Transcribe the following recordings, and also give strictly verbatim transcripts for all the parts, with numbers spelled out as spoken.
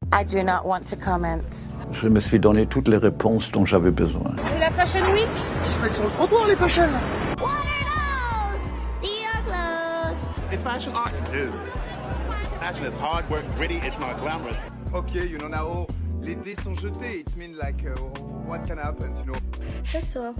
I do not want to comment. Je me suis donné toutes les réponses dont j'avais besoin. C'est la Fashion Week. Ils se mettent sur le trottoir, les fashion. What are those? They are clothes. It's fashion art. Dude. Fashion is hard work, gritty, it's not glamorous. Okay, you know, now, les dés sont jetés. It means like, uh, what can happen, you know? That's all.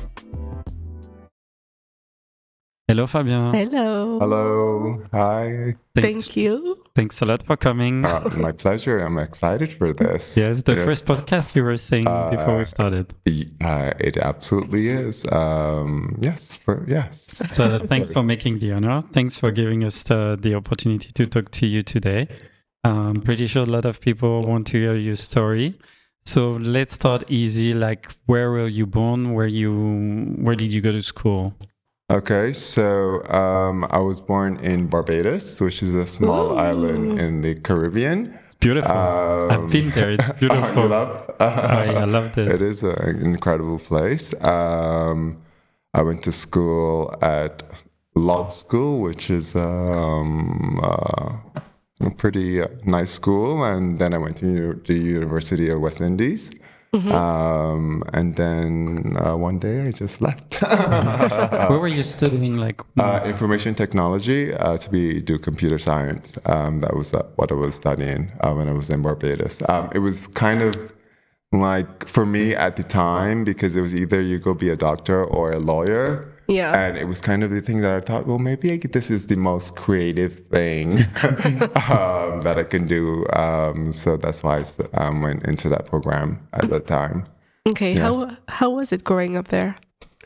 Hello, Fabien. Hello. Hello. Hi. Thanks, Thank you. Thanks a lot for coming. Uh, my pleasure. I'm excited for this. Yes, the Yes. first podcast you were saying Uh, before we started. Uh, it absolutely is. Um, yes. For yes. So thanks for making the honor. Thanks for giving us uh, the opportunity to talk to you today. I'm pretty sure a lot of people want to hear your story. So let's start easy. Like, where were you born? Where you? Where did you go to school? Okay, so um, I was born in Barbados, which is a small Ooh. island in the Caribbean. It's beautiful. Um, I've been there. It's beautiful. you love? Oh, yeah, I loved it. It is an incredible place. Um, I went to school at Law School, which is um, uh, a pretty uh, nice school, and then I went to u- the University of West Indies. Mm-hmm. Um, and then uh, one day I just left. Where were you studying? Like, uh, information technology uh, to be do computer science. Um, that was uh, what I was studying uh, when I was in Barbados. Um, it was kind of like for me at the time because it was either you go be a doctor or a lawyer. Yeah. And it was kind of the thing that I thought, well, maybe I, this is the most creative thing um, that I can do. Um, so that's why I um, went into that program at the time. Okay. Yes. How how was it growing up there?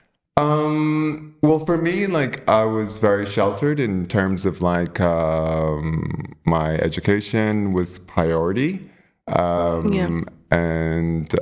Um, well, for me, like I was very sheltered in terms of like um, my education was priority. Um, Yeah. And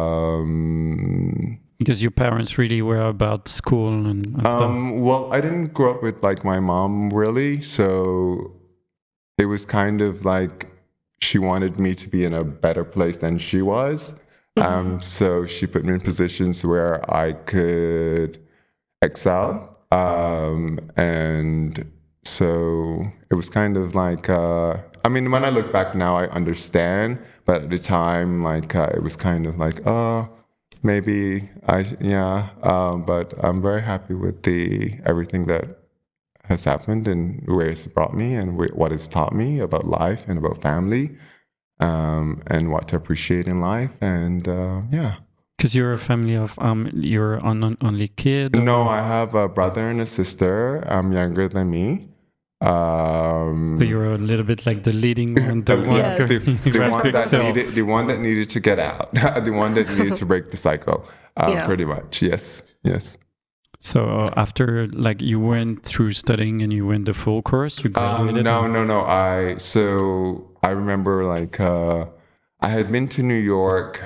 um, because your parents really were about school and, and stuff. Um, well, I didn't grow up with like my mom really, so it was kind of like she wanted me to be in a better place than she was. Mm-hmm. Um, so she put me in positions where I could excel. Um, and so it was kind of like, uh, I mean, when I look back now, I understand, but at the time, like, uh, it was kind of like, oh, maybe I, yeah, um, but I'm very happy with the everything that has happened and where it's brought me and wh- what it's taught me about life and about family, um, and what to appreciate in life. And uh, yeah. Because you're a family of, um, you're an on- only kid? Or? No, I have a brother and a sister. I'm younger than me. Um, So you're a little bit like the leading one, the one, Yes. the, the Right one to that excel. needed, the one that needed to get out, the one that needed to break the cycle. Um, Yeah. Pretty much, yes, yes. So uh, after, like, you went through studying and you went the full course, you Um, graduated? no, no, no. I so I remember like uh, I had been to New York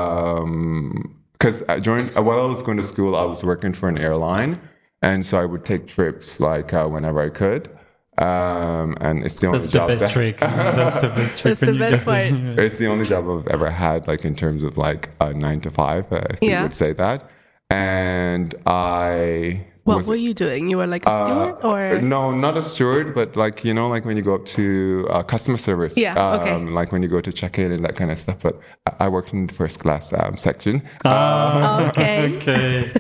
because um, during while I was going to school, I was working for an airline, and so I would take trips like uh, whenever I could. Um, and it's the only That's the job best that, trick. That's the best trick. That's the when you best go- part. It's the only job I've ever had, like in terms of like a nine to five, uh, if you Yeah. would say that. And I What was were you doing? You were like a steward uh, or? no, not a steward, but like you know, like when you go up to uh, customer service, Yeah, okay. um, like when you go to check in and that kind of stuff. But I, I worked in the first class um, section. Ah, Okay. okay.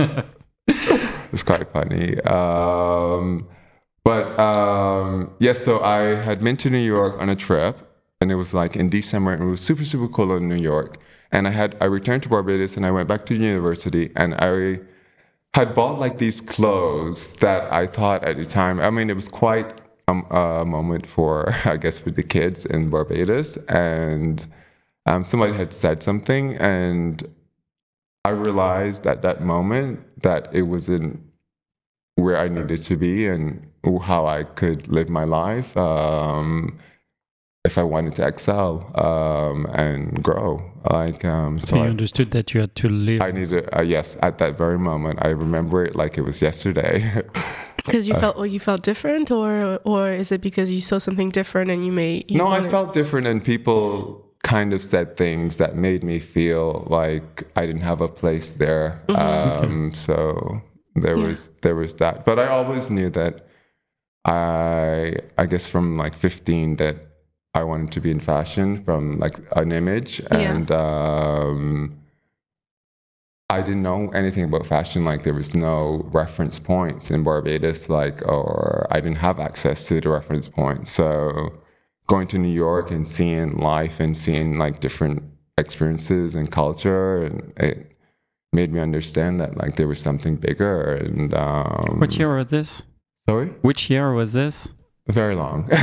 It's quite funny. Um, but um, yes, so I had been to New York on a trip, and it was like in December, and it was super, super cold in New York. And I had I returned to Barbados, and I went back to university, and I had bought like these clothes that I thought at the time. I mean, it was quite um, a moment for, I guess, for the kids in Barbados, and um, somebody had said something, and I realized at that moment that it wasn't where I needed to be and how I could live my life um, if I wanted to excel um, and grow. Like um, So so, you I, understood that you had to live. I needed. Uh, yes, at that very moment, I remember it like it was yesterday. Because you felt, well, you felt different, or or is it because you saw something different and you made? You no, I wanted- felt different, and people kind of said things that made me feel like I didn't have a place there. Um, so there Yeah. was there was that, but I always knew that I I guess from like fifteen that I wanted to be in fashion from like an image, Yeah. and um, I didn't know anything about fashion. Like there was no reference points in Barbados, like, or I didn't have access to the reference points. So going to New York and seeing life and seeing like different experiences and culture, and it made me understand that like there was something bigger. And um, What year was this? Sorry, Which year was this? very long. a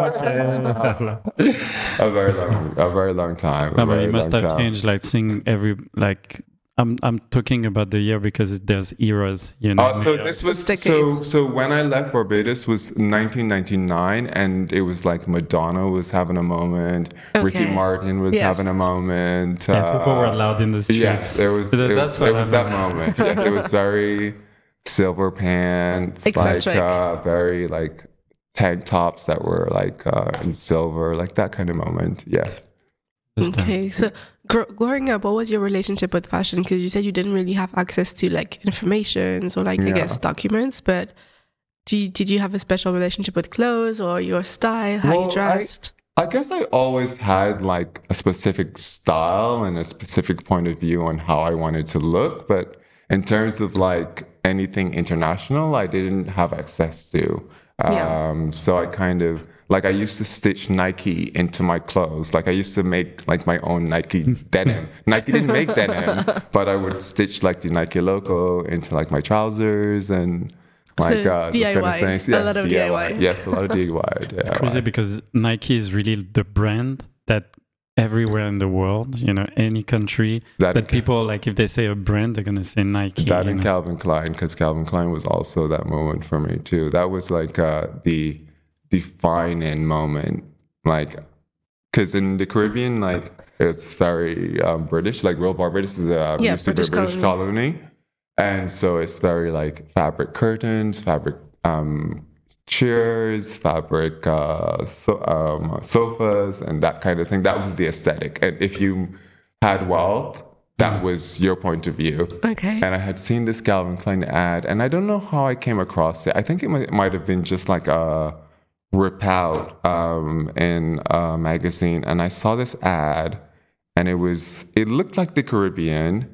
very long, a very long time. a No, but very you must long have time. changed, like seeing every like. I'm I'm talking about the year because there's eras, you know. Uh, so this was It's so decades. so when I left Barbados was nineteen ninety-nine, and it was like Madonna was having a moment, Ricky Okay. Martin was Yes. having a moment. Yeah, people were uh, loud in the streets. Yes, it was. So It that's was, what it was I that meant. moment. Yes, it was very silver pants, Eccentric. like uh, very like tank tops that were like uh, in silver, like that kind of moment. Yes. This time. Okay, so gr- growing up, what was your relationship with fashion? Because you said you didn't really have access to like information or like I Yeah. guess documents, but do you, did you have a special relationship with clothes or your style, how Well, you I- dressed? I guess I always had like a specific style and a specific point of view on how I wanted to look. But in terms of like anything international, I didn't have access to. Um, Yeah. So I kind of like I used to stitch Nike into my clothes. Like I used to make like my own Nike denim. Nike didn't make denim, but I would stitch like the Nike logo into like my trousers and like So uh, those kind of D I Y, things. a lot of D I Y. Yes, a lot of D I Y. It's crazy because Nike is really the brand that everywhere in the world, you know, any country, That- but people like if they say a brand, they're gonna say Nike. That you and know. Calvin Klein, because Calvin Klein was also that moment for me too. That was like uh, the defining moment, like because in the Caribbean, like it's very um, British. Like Real Barbados is a Yeah, used to be a British British colony. colony, and so it's very like fabric curtains, fabric um, chairs, fabric uh, so, um, sofas, and that kind of thing. That was the aesthetic, and if you had wealth, that was your point of view. Okay. And I had seen this Calvin Klein ad, and I don't know how I came across it. I think it might, might have been just like a rip out um, in a magazine, and I saw this ad, and it was it looked like the Caribbean,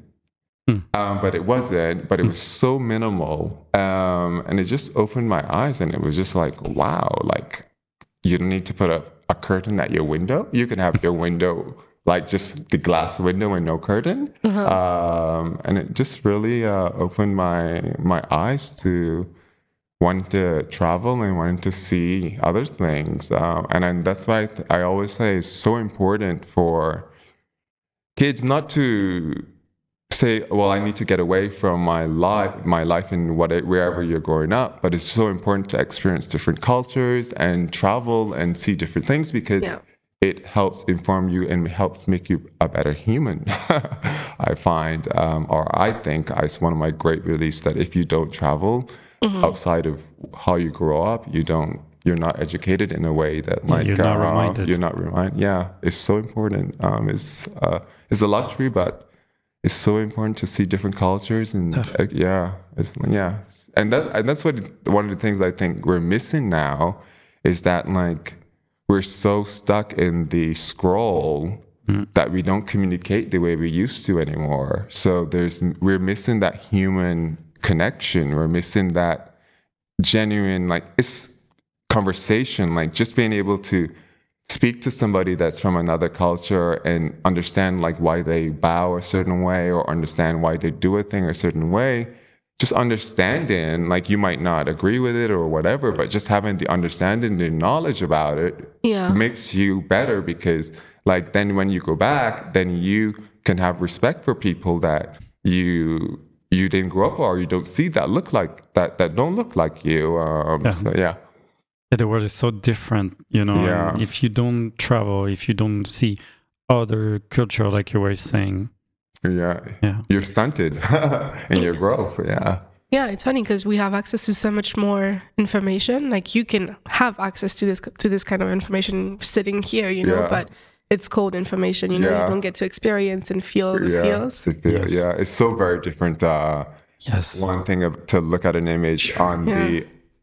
um, but it wasn't. But it was so minimal, um, and it just opened my eyes, and it was just like, wow, like you don't need to put a, a curtain at your window. You can have your window like just the glass window and no curtain. Um, and it just really uh, opened my my eyes to wanting to travel and wanting to see other things. Um, and then that's why I, th- I always say it's so important for kids not to say, well, I need to get away from my life, my life in what, wherever you're growing up. But it's so important to experience different cultures and travel and see different things because Yeah. it helps inform you and helps make you a better human. I find, um, or I think, it's one of my great beliefs that if you don't travel outside of how you grow up, you don't, you're not educated in a way that Yeah, like you're not uh, reminded. You're not reminded. Yeah, it's so important. Um, it's uh, it's a luxury, but it's so important to see different cultures and uh, yeah, it's, yeah, and that and that's what one of the things I think we're missing now is that like we're so stuck in the scroll that we don't communicate the way we used to anymore. So there's we're missing that human connection. We're missing that genuine like it's conversation, like just being able to speak to somebody that's from another culture and understand like why they bow a certain way or understand why they do a thing a certain way. Just understanding, like you might not agree with it or whatever, but just having the understanding, the knowledge about it Yeah. makes you better because like then when you go back, then you can have respect for people that you you didn't grow up or you don't see that look like that that don't look like you. Um, Yeah. So, yeah. Yeah, the world is so different, you know. Yeah. and if you don't travel, if you don't see other culture, like you were saying, Yeah. Yeah. You're stunted in your growth. Yeah. Yeah, it's funny because we have access to so much more information. Like you can have access to this to this kind of information sitting here, you know, Yeah. but it's cold information, you know, Yeah. you don't get to experience and feel the Yeah. feels. To feel- Yes. Yeah. It's so very different. Uh, yes, one thing of, to look at an image on Yeah. the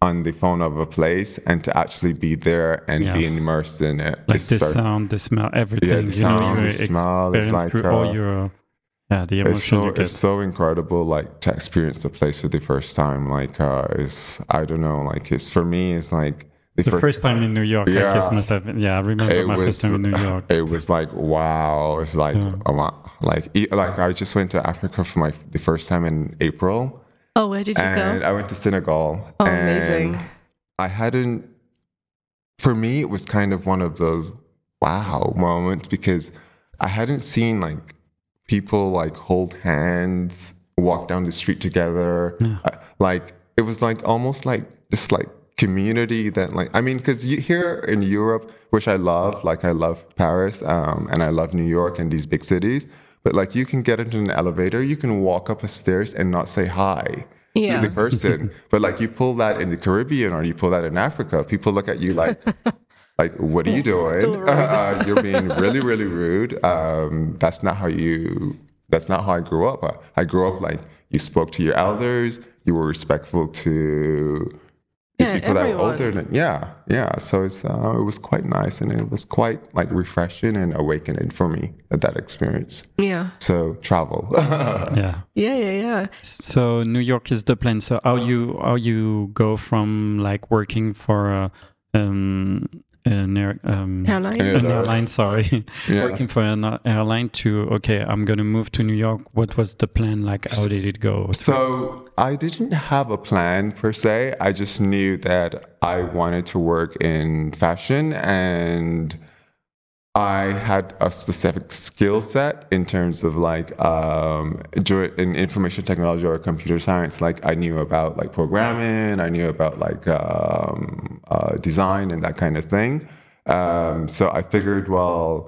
on the phone of a place and to actually be there and Yes. be immersed in it. Like It's the very- sound, the smell, everything. Yeah, the you sound, know, you the smell is experience like, through all uh, your, yeah, the It's emotion so you get. it's so incredible, like to experience the place for the first time. Like, uh, it's I don't know, like it's for me, it's like the, The first time in New York, I Yeah. guess must have been. Yeah, I remember it my was first time in New York. it was like wow, it's like Yeah. oh, wow. like e- like I just went to Africa for my the first time in April, Oh, where did you and go? I went to Senegal. Oh, and amazing. I hadn't. For me, it was kind of one of those wow moments because I hadn't seen like people like hold hands, walk down the street together. Uh, like it was like almost like just like community that like I mean because you here in Europe, which I love, like I love Paris um, and I love New York and these big cities, but like you can get into an elevator, you can walk up a stairs and not say hi Yeah. to the person. But like you pull that in the Caribbean or you pull that in Africa, people look at you like, like, what are you doing? So rude. Uh, you're being really, really rude. Um, that's not how you. That's not how I grew up. I, I grew up like you spoke to your elders. You were respectful to the Yeah, people that were everyone. older than. Yeah, yeah. So it's uh, it was quite nice and it was quite like refreshing and awakening for me at that experience. Yeah. So travel. Yeah. Yeah, yeah, yeah. So New York is the plan. So how you how you go from like working for a um an air, um Airline? Yeah. an airline, sorry, Yeah. working for an airline to okay, I'm gonna move to New York. What was the plan? Like, how did it go? So I didn't have a plan per se. I just knew that I wanted to work in fashion and I had a specific skill set in terms of like um, dur- in information technology or computer science. Like I knew about like programming, I knew about like um, uh, design and that kind of thing. Um, so I figured, well,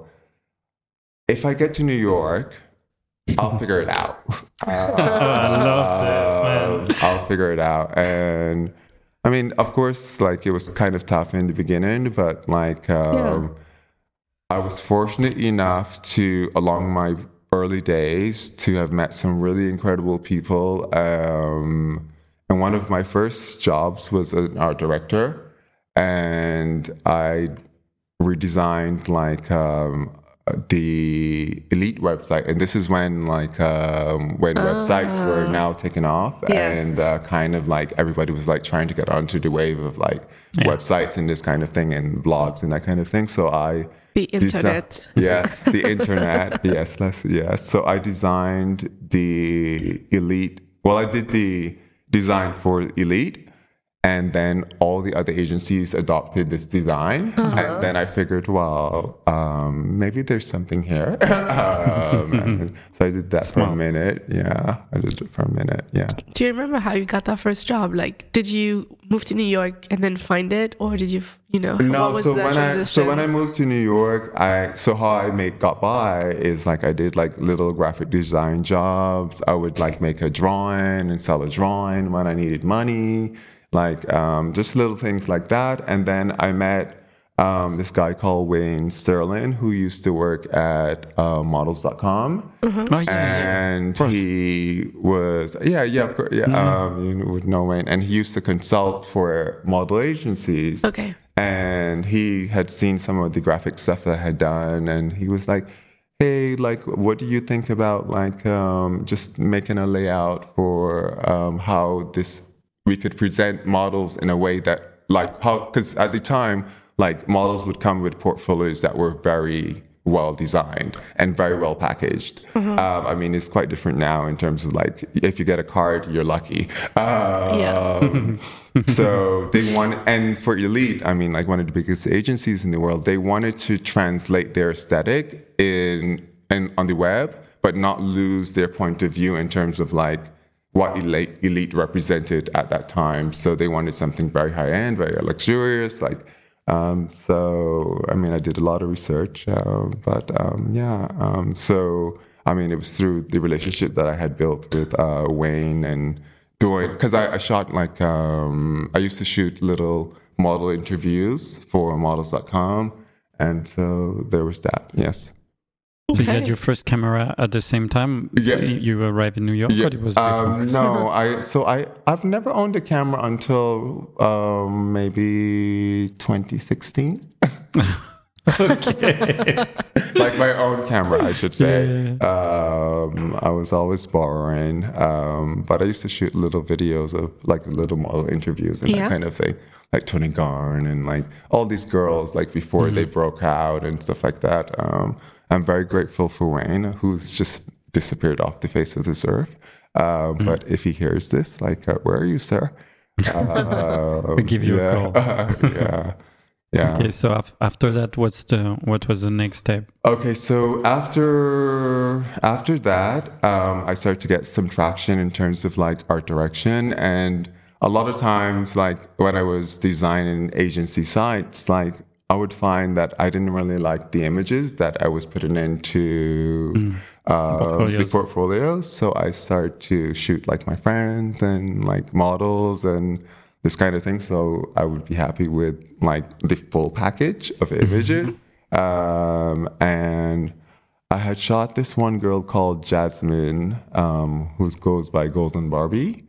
if I get to New York, I'll figure it out. I love this, man. Um, I'll figure it out. And I mean, of course, like it was kind of tough in the beginning, but like um, I was fortunate enough to, along my early days, to have met some really incredible people. Um, and one of my first jobs was an art director, and I redesigned like um, the Elite website, and this is when like um, when websites were now taken off, Yes. and uh, kind of like everybody was like trying to get onto the wave of like Yeah. websites and this kind of thing and blogs and that kind of thing. So I The desi- internet. yes, the internet. Yes, let's, yes. So I designed the Elite. Well, I did the design for Elite. And then all the other agencies adopted this design. And then I figured, well, um, maybe there's something here. um, and so I did that for Smart. a minute. Yeah, I did it for a minute. Yeah. Do you remember how you got that first job? Like, did you move to New York and then find it, or did you, you know, No, what was so that when transition? I so when I moved to New York, I so how I made got by is like I did like little graphic design jobs. I would like make a drawing and sell a drawing when I needed money, like um, just little things like that. And then I met um, this guy called Wayne Sterling, who used to work at uh, models dot com. Oh, yeah, yeah. And course. he was, yeah, yeah, of course, yeah, um, you would know Wayne. And he used to consult for model agencies. Okay. And he had seen some of the graphic stuff that I had done, and he was like, "Hey, like, what do you think about like um, just making a layout for um, how this we could present models in a way that like how because at the time like models would come with portfolios that were very well designed and very well packaged. Um, I mean, it's quite different now in terms of like if you get a card, you're lucky. Um, so they want, and for Elite, I mean, like one of the biggest agencies in the world, they wanted to translate their aesthetic in and on the web, but not lose their point of view in terms of like what Elite, Elite represented at that time. So they wanted something very high end, very luxurious, like. Um, so, I mean, I did a lot of research, uh, but um, yeah. Um, so, I mean, it was through the relationship that I had built with uh, Wayne and doing, because I, I shot like, um, I used to shoot little model interviews for models dot com. And so there was that, yes. So you had Okay. your first camera at the same time Yeah. you arrived in New York, or it was before? Um, no, I so I I've never owned a camera until um, maybe twenty sixteen. Like my own camera, I should say. Um, I was always borrowing, um, but I used to shoot little videos of like little model interviews and Yeah. that kind of thing, like Tony Garn and like all these girls, like before they broke out and stuff like that. Um, I'm very grateful for Wayne, who's just disappeared off the face of this earth. Uh, But if he hears this, like, uh, where are you, sir? Uh, We'll give you yeah, a call. yeah. Yeah. Okay, so af- after that, what's the what was the next step? Okay, so after after that, um, I started to get some traction in terms of like art direction, and a lot of times, like when I was designing agency sites, like I would find that I didn't really like the images that I was putting into uh, the Portfolios. portfolios. So I started to shoot like my friends and like models and this kind of thing. So I would be happy with like the full package of images. um, and I had shot this one girl called Jasmine, um, who goes by Golden Barbie.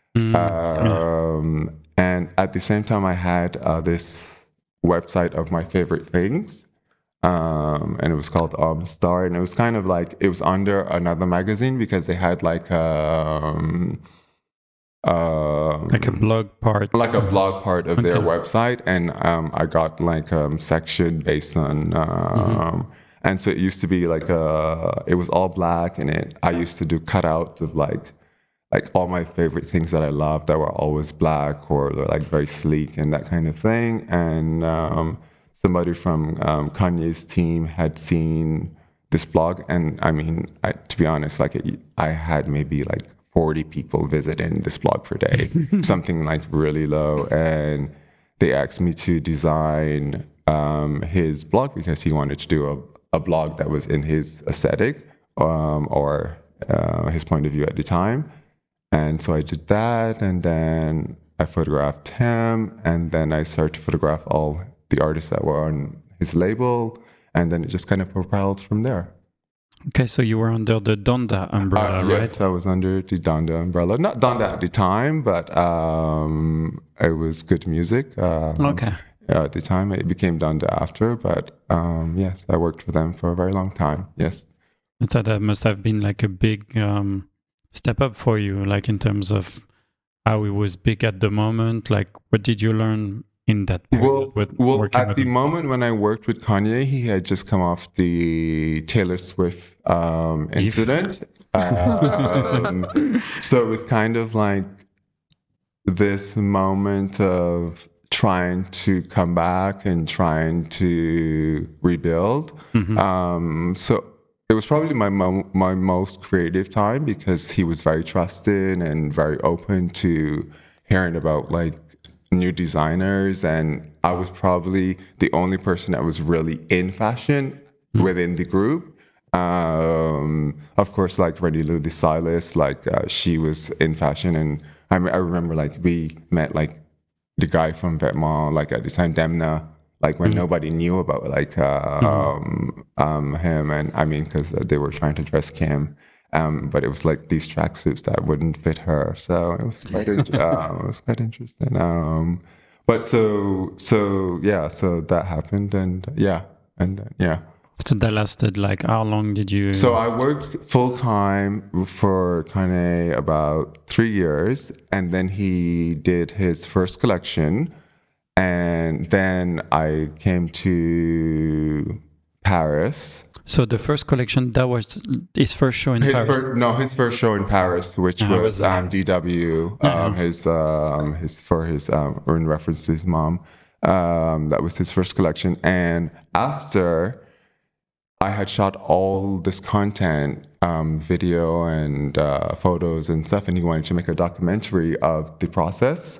Um, and at the same time, I had uh, this website of my favorite things. Um, and it was called um, Star. And it was kind of like, it was under another magazine because they had like, um, um, Like a blog part? like a blog part of their Okay. website, and um, I got like um section based on um, and so it used to be like a it was all black, and it I used to do cutouts of like like all my favorite things that I loved that were always black or they're like very sleek and that kind of thing. And um, somebody from um, Kanye's team had seen this blog, and I mean, I, to be honest, like it, I had maybe like forty people visiting this blog per day, something like really low. And they asked me to design um, his blog because he wanted to do a, a blog that was in his aesthetic um, or uh, his point of view at the time. And so I did that, and then I photographed him, and then I started to photograph all the artists that were on his label, and then it just kind of propelled from there. Okay, so you were under the Donda umbrella, Uh, right? yes, I was under the Donda umbrella. Not Donda at the time, but um, it was good music. Um, Okay. At the time, it became Donda after, but um, yes, I worked for them for a very long time. Yes. So that must have been like a big um, step up for you, like in terms of how it was big at the moment. Like, what did you learn in that period? Well, with well working at with the him? moment when I worked with Kanye, he had just come off the Taylor Swift um, incident. um, so it was kind of like this moment of trying to come back and trying to rebuild. Mhm. Um, so it was probably my mo- my most creative time because he was very trusted and very open to hearing about like new designers, and I was probably the only person that was really in fashion within the group. Um, of course, like Rennie Lou DeSilis, like uh, she was in fashion, and I, me- I remember like we met like the guy from Vetements, like at the time Demna, like when nobody knew about like uh, um, um, him, and I mean because they were trying to dress Kim. Um, but it was like these tracksuits that wouldn't fit her, so it was quite in- um, it was quite interesting. Um, but so so yeah, so that happened, and yeah, and uh, yeah. So that lasted like how long did you? So I worked full time for Kanye about three years, and then he did his first collection, and then I came to Paris. So the first collection, that was his first show in His Paris. first, no, his first show in Paris, which Uh-huh. was um, D W, um, his um, his for his um, or in reference to his mom. Um, that was his first collection, and after I had shot all this content, um, video and uh, photos and stuff, and he wanted to make a documentary of the process.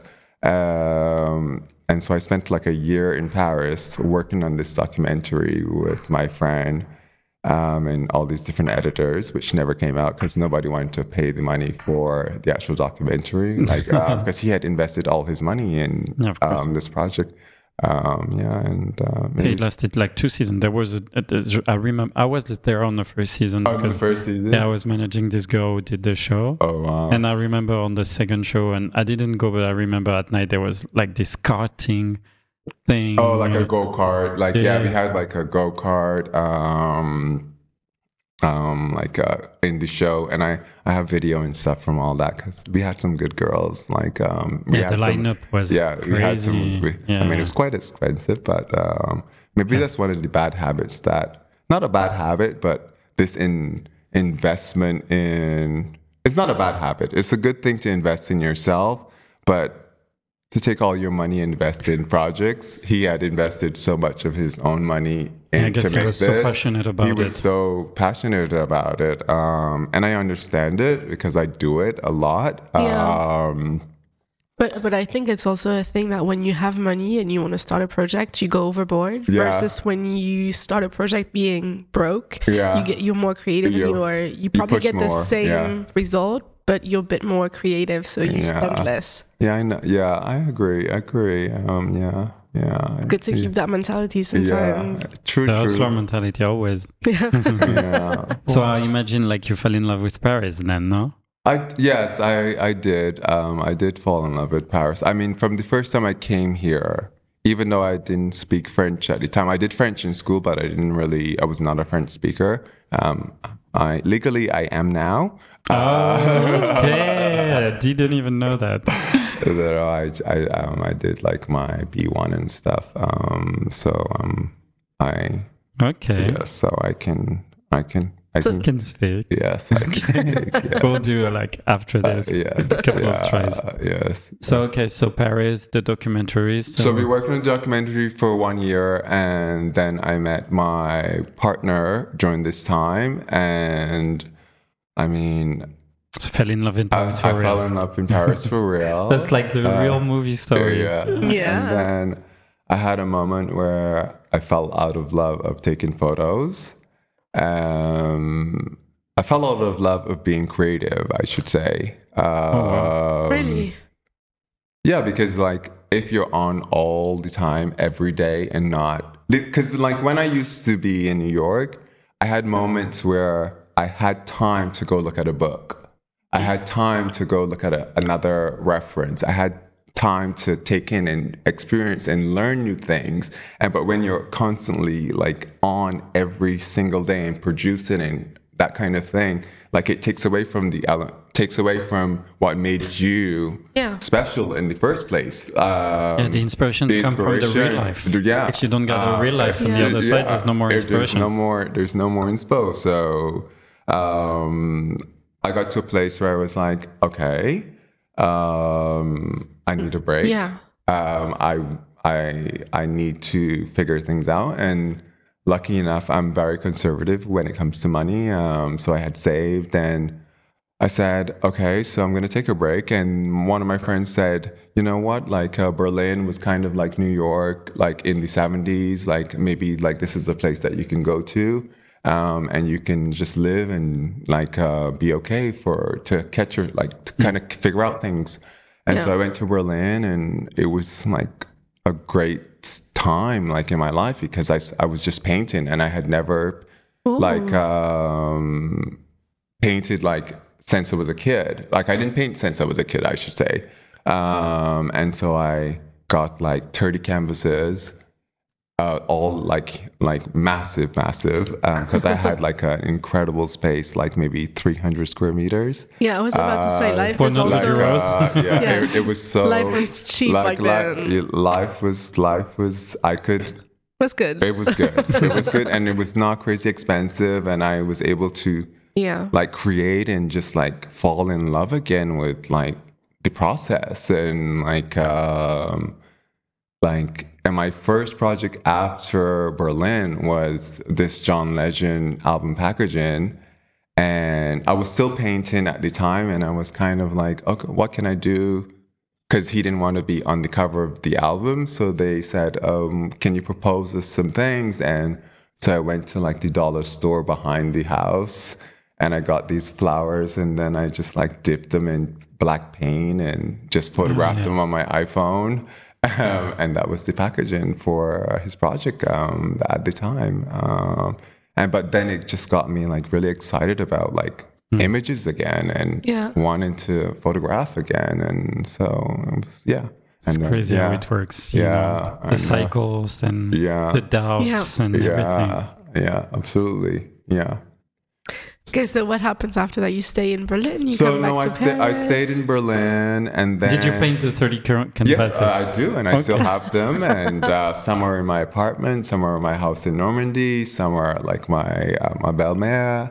Um, and so I spent like a year in Paris working on this documentary with my friend. Um, and all these different editors, which never came out because nobody wanted to pay the money for the actual documentary, like uh, because he had invested all his money in Yeah, of course. um, this project. Um, yeah, and uh, It lasted like two seasons. There was a, a, a I remember I was there on the first season oh, the because first season. yeah, I was managing this girl who did the show. Oh wow! And I remember on the second show, and I didn't go, but I remember at night there was like this karting thing. Oh, like a go kart. Like yeah. Yeah. we had like a go kart. Um, um, like uh, in the show, and I I have video and stuff from all that because we had some good girls. Like um, we Yeah, had the some- lineup was yeah, crazy. we had some. We, yeah. I mean, it was quite expensive, but um, maybe that's one of the bad habits that not a bad habit, but this in investment in it's not a bad habit. It's a good thing to invest in yourself, but to take all your money and invest in projects. He had invested so much of his own money I into guess he make was this. so passionate about he was it. so passionate about it, um, and I understand it because I do it a lot. Yeah. Um, But but I think it's also a thing that when you have money and you want to start a project, you go overboard. Yeah. Versus when you start a project being broke, Yeah. you get you're more creative and You're- you are you probably push get the more, same yeah. result, but you're a bit more creative, so you Yeah. spend less. yeah, I know. Yeah, I agree. I agree. Um, yeah, yeah. Good to yeah. keep that mentality Yeah, sometimes. true, The true. hustler mentality always. Yeah. Yeah. So I imagine like you fell in love with Paris then, no? I yes, I I did. Um, I did fall in love with Paris. I mean, from the first time I came here, even though I didn't speak French at the time, I did French in school, but I didn't really. I was not a French speaker. Um, I legally I am now. Okay, I didn't even know that. Uh, I I um, I did like my B one and stuff. Um, so um, I Okay, yes, so I can I can I So- can can speak. yes I can speak, yes. We'll do like after Uh, this yes, a couple yeah, of tries. yes. So okay, so Paris, the documentaries. So we worked on a documentary for one year, and then I met my partner during this time, and I mean, So fell in love in I, Paris I for fell real. in love in Paris for real. That's like the Uh, real movie story. Yeah. Yeah. And then I had a moment where I fell out of love of taking photos. Um, I fell out of love of being creative, I should say. Um, Really? Yeah, because like if you're on all the time, every day, and not because like when I used to be in New York, I had moments where I had time to go look at a book. I had time to go look at a, another reference. I had time to take in and experience and learn new things. And but when you're constantly like on every single day and producing and that kind of thing, like it takes away from the ele- takes away from what made you Yeah. special in the first place. Um, Yeah, the inspiration the come from the real inspiration- life. Yeah. If you don't get the Uh, real life from the Yeah. other side, there's no more if inspiration. There's no more. There's no more inspo. So um, I got to a place where I was like, okay, um, I need a break. Yeah. Um, I I I need to figure things out. And lucky enough, I'm very conservative when it comes to money. Um, so I had saved, and I said, okay, so I'm going to take a break. And one of my friends said, you know what, like uh, Berlin was kind of like New York, like in the seventies, like maybe like this is a place that you can go to. Um, and you can just live and like uh, be okay for to catch your like to kind of figure out things. And so Yeah. I went to Berlin, and it was like a great time, like in my life, because I, s- I was just painting, and I had never like um, painted like since I was a kid. Like I didn't paint since I was a kid, I should say. Um, and so I got like thirty canvases. Uh, all like like massive, massive, because I had like an incredible space, like maybe three hundred square meters. Yeah, I was about to say life for was not also like, euros. Uh, yeah, Yeah. It, it was so. Life was cheap like, back li- then. yeah, life was life was. I could. was good. It was good. It was good, and it was not crazy expensive, and I was able to Yeah. like create and just like fall in love again with like the process and like um like and my first project after Berlin was this John Legend album packaging, and I was still painting at the time, and I was kind of like, okay, what can I do? Because he didn't want to be on the cover of the album, so they said, um, can you propose us some things? And so I went to like the dollar store behind the house, and I got these flowers, and then I just like dipped them in black paint and just photographed yeah. them on my iPhone. Um, and that was the packaging for his project um, at the time. Um, and but then it just got me like really excited about like mm. images again and yeah. wanting to photograph again. And so it was, yeah. It's and, crazy uh, yeah. how it works. You Yeah. know, the and, cycles and yeah. the doubts Yeah. and everything. Yeah. Yeah, absolutely. Yeah. Okay, so what happens after that? You stay in Berlin? You So come back no, I, to sta- I Paris? stayed in Berlin, and then Did you paint the thirty current canvases? Yes, uh, I do, and I Okay. still have them. And uh, some are in my apartment, some are in my house in Normandy, some are like my uh, my belle-mère.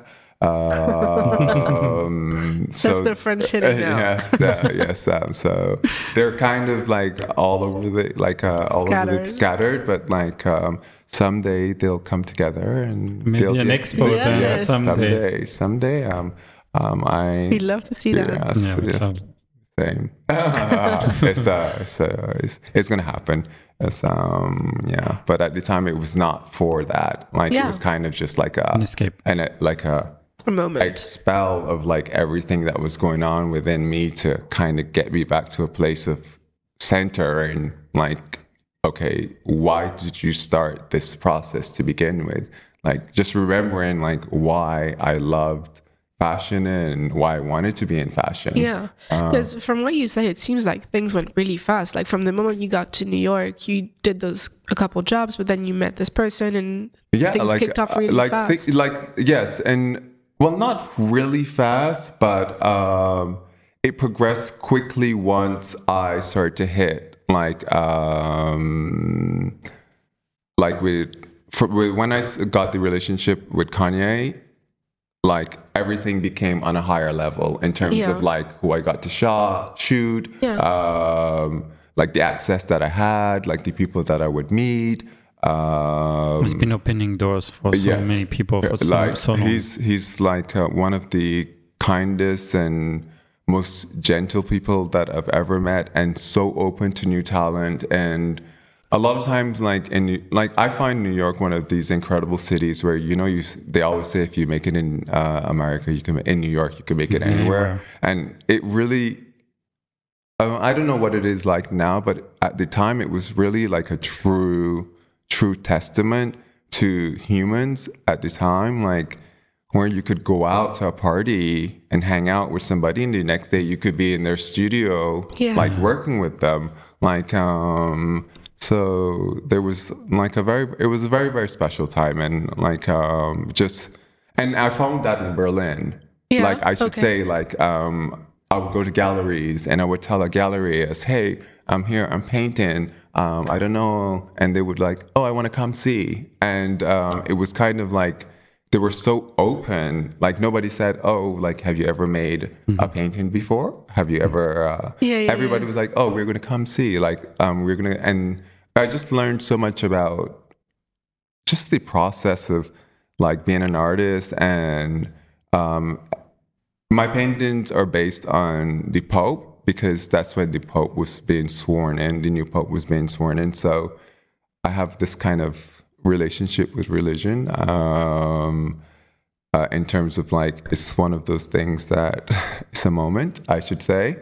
Um, so That's the French hitting now. yes, uh, yes. Um, so they're kind of like all over the like uh, all over the Scattered. scattered, but like um, someday they'll come together and Maybe build an the- expo Yeah. then Yes. someday. someday, someday. Um, um, I We'd love to see that. Yes, Yeah, we yes. love. Same. it's uh, it's, uh, it's it's gonna happen. It's um yeah, but at the time it was not for that. Like it Yeah. was kind of just like a An escape. and it, like a A moment. expel of like everything that was going on within me to kind of get me back to a place of center and like, okay, why did you start this process to begin with? Like just remembering like why I loved fashion and why I wanted to be in fashion. Yeah, Um, because from what you say, it seems like things went really fast. Like from the moment you got to New York, you did those a couple jobs, but then you met this person, and yeah, things like, kicked off uh, really like, fast. thi- like yes, and well, not really fast, but um, it progressed quickly once I started to hit like um, like with, for, with when I s- got the relationship with Kanye. Like everything became on a higher level in terms Yeah. of like who I got to shot, shoot, Yeah. um, like the access that I had, like the people that I would meet. Um, It's been opening doors for so yes. many people for so, like so long. he's he's like uh, one of the kindest and most gentle people that I've ever met, and so open to new talent. And a lot of times, like in like I find New York one of these incredible cities where you know you they always say if you make it in uh, America, you can in New York, you can make it anywhere, Anywhere. and it really. Uh, I don't know what it is like now, but at the time, it was really like a true, true testament to humans at the time, like where you could go out to a party and hang out with somebody, and the next day you could be in their studio, Yeah. like working with them, like um. So there was like a very, it was a very very special time, and like um just, and I found that in Berlin. Yeah, Like I should okay. say, like um. I would go to galleries and I would tell a galleryist, hey, I'm here, I'm painting, um, I don't know. And they would like, oh, I want to come see. And um, it was kind of like, they were so open. Like nobody said, oh, like, have you ever made a painting before? Have you ever, uh, Yeah, yeah, everybody yeah. was like, oh, we're going to come see. Like, um, we're going to, and I just learned so much about just the process of like being an artist. And um, my paintings are based on the Pope because that's when the Pope was being sworn in, the new Pope was being sworn in. So I have this kind of relationship with religion um, uh, in terms of like, it's one of those things that it's a moment, I should say.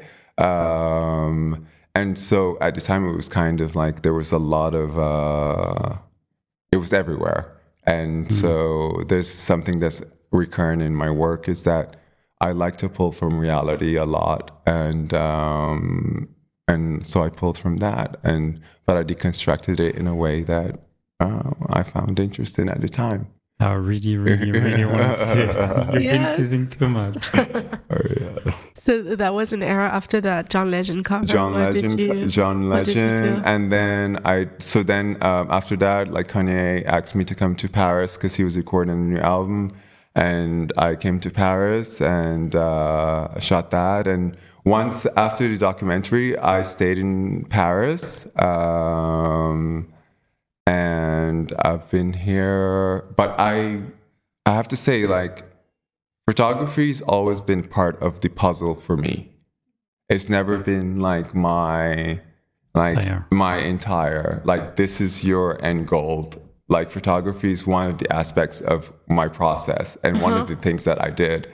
Um, and so at the time it was kind of like there was a lot of, uh, it was everywhere. And so there's something that's recurrent in my work is that I like to pull from reality a lot, and um, and so I pulled from that, and but I deconstructed it in a way that uh, I found interesting at the time. I really, really, really want to see it. You've Yes. been teasing too much. Oh, yes. So that was an era after that John Legend cover. John What did Legend, you- John what did you Legend, feel? and then I. So then um, after that, like Kanye asked me to come to Paris because he was recording a new album, and I came to Paris and uh, shot that. And once after the documentary, I stayed in Paris, um, and I've been here. But I, I have to say, like, photography's always been part of the puzzle for me. It's never been like my like Entire. my entire like this is your end goal. Like photography is one of the aspects of my process and one of the things that I did.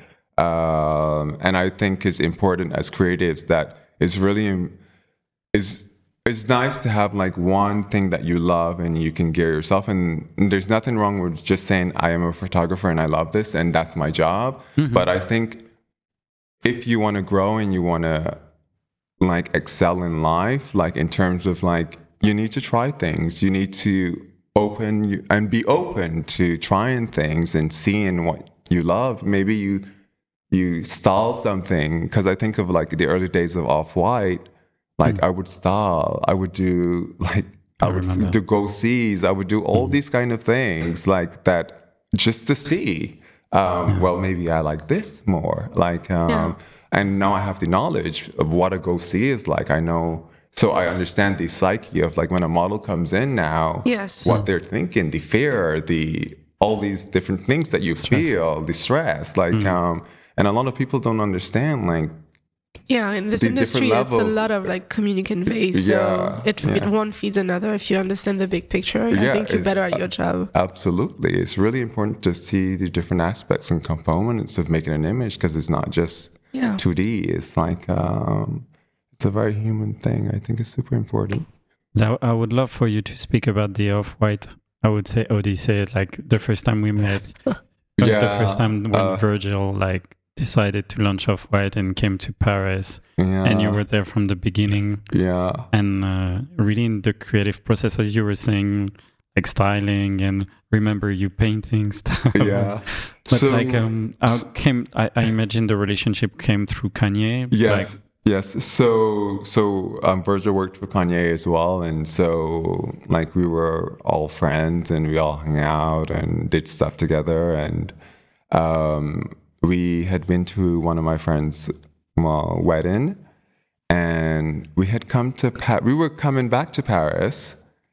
Um, and I think is important as creatives that is really im- is it's nice to have like one thing that you love and you can gear yourself. And there's nothing wrong with just saying, I am a photographer and I love this and that's my job. Mm-hmm. But I think if you want to grow and you want to like excel in life, like in terms of like, you need to try things. You need to open and be open to trying things and seeing what you love. Maybe you you style something, because I think of like the early days of Off-White. Like mm. I would style, I would do like I, I would remember. do go sees, I would do all mm. these kind of things like that just to see. Um, yeah. Well, maybe I like this more. Like, um, yeah. and now I have the knowledge of what a go see is like. I know. So I understand the psyche of like when a model comes in now, yes. what they're thinking, the fear, the all these different things that you stress. feel, the stress, like, mm. um, and a lot of people don't understand, like, yeah, in this industry, it's a lot of like communicant phase. So yeah, it, yeah. it one feeds another. If you understand the big picture, yeah, I think you're better at your job. Absolutely. It's really important to see the different aspects and components of making an image, because it's not just yeah. two D. It's like, um, it's a very human thing. I think it's super important. Now, I would love for you to speak about the Off-White, I would say, Odyssey, like the first time we met. It was yeah, the first time when uh, Virgil like decided to launch Off-White and came to Paris. Yeah. And you were there from the beginning. Yeah. And uh, really in the creative process, as you were saying, like styling, and remember you painting stuff. Yeah. But so, like, um, how came, I, I imagine the relationship came through Kanye. Yes. Like, Yes, so so um, Virgil worked for Kanye as well, and so like we were all friends, and we all hung out and did stuff together, and um, we had been to one of my friends' well, wedding, and we had come to pa- we were coming back to Paris,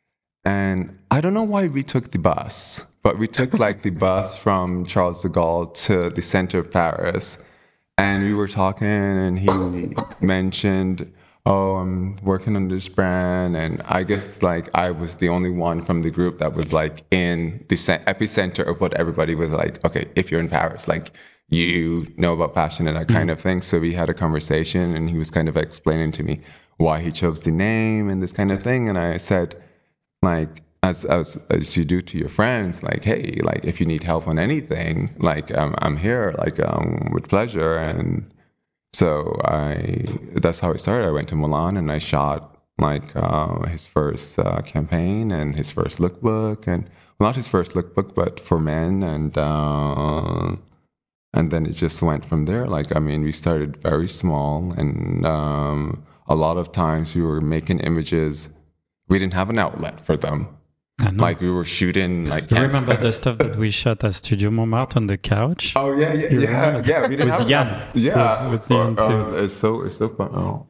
and I don't know why we took the bus, but we took like the bus from Charles de Gaulle to the center of Paris. And we were talking, and he mentioned, oh, I'm working on this brand. And I guess, like, I was the only one from the group that was, like, in the epicenter of what everybody was like, okay, if you're in Paris, like, you know about fashion and that kind of thing. So we had a conversation, and he was kind of explaining to me why he chose the name and this kind of thing. And I said, like, As, as as you do to your friends, like, hey, like if you need help on anything, like um, I'm here, like um, with pleasure. And so I, that's how it started. I went to Milan and I shot like uh, his first uh, campaign and his first lookbook, and well, not his first lookbook, but for men, and uh, and then it just went from there. Like, I mean, we started very small, and um, a lot of times we were making images. We didn't have an outlet for them. Like we were shooting, like you remember the stuff that we shot at Studio Montmartre on the couch? Oh yeah, yeah, you yeah, remember? yeah. We didn't with have Jan. That. Yeah, with, with Jan oh, too. Oh, it's so it's so fun. Oh.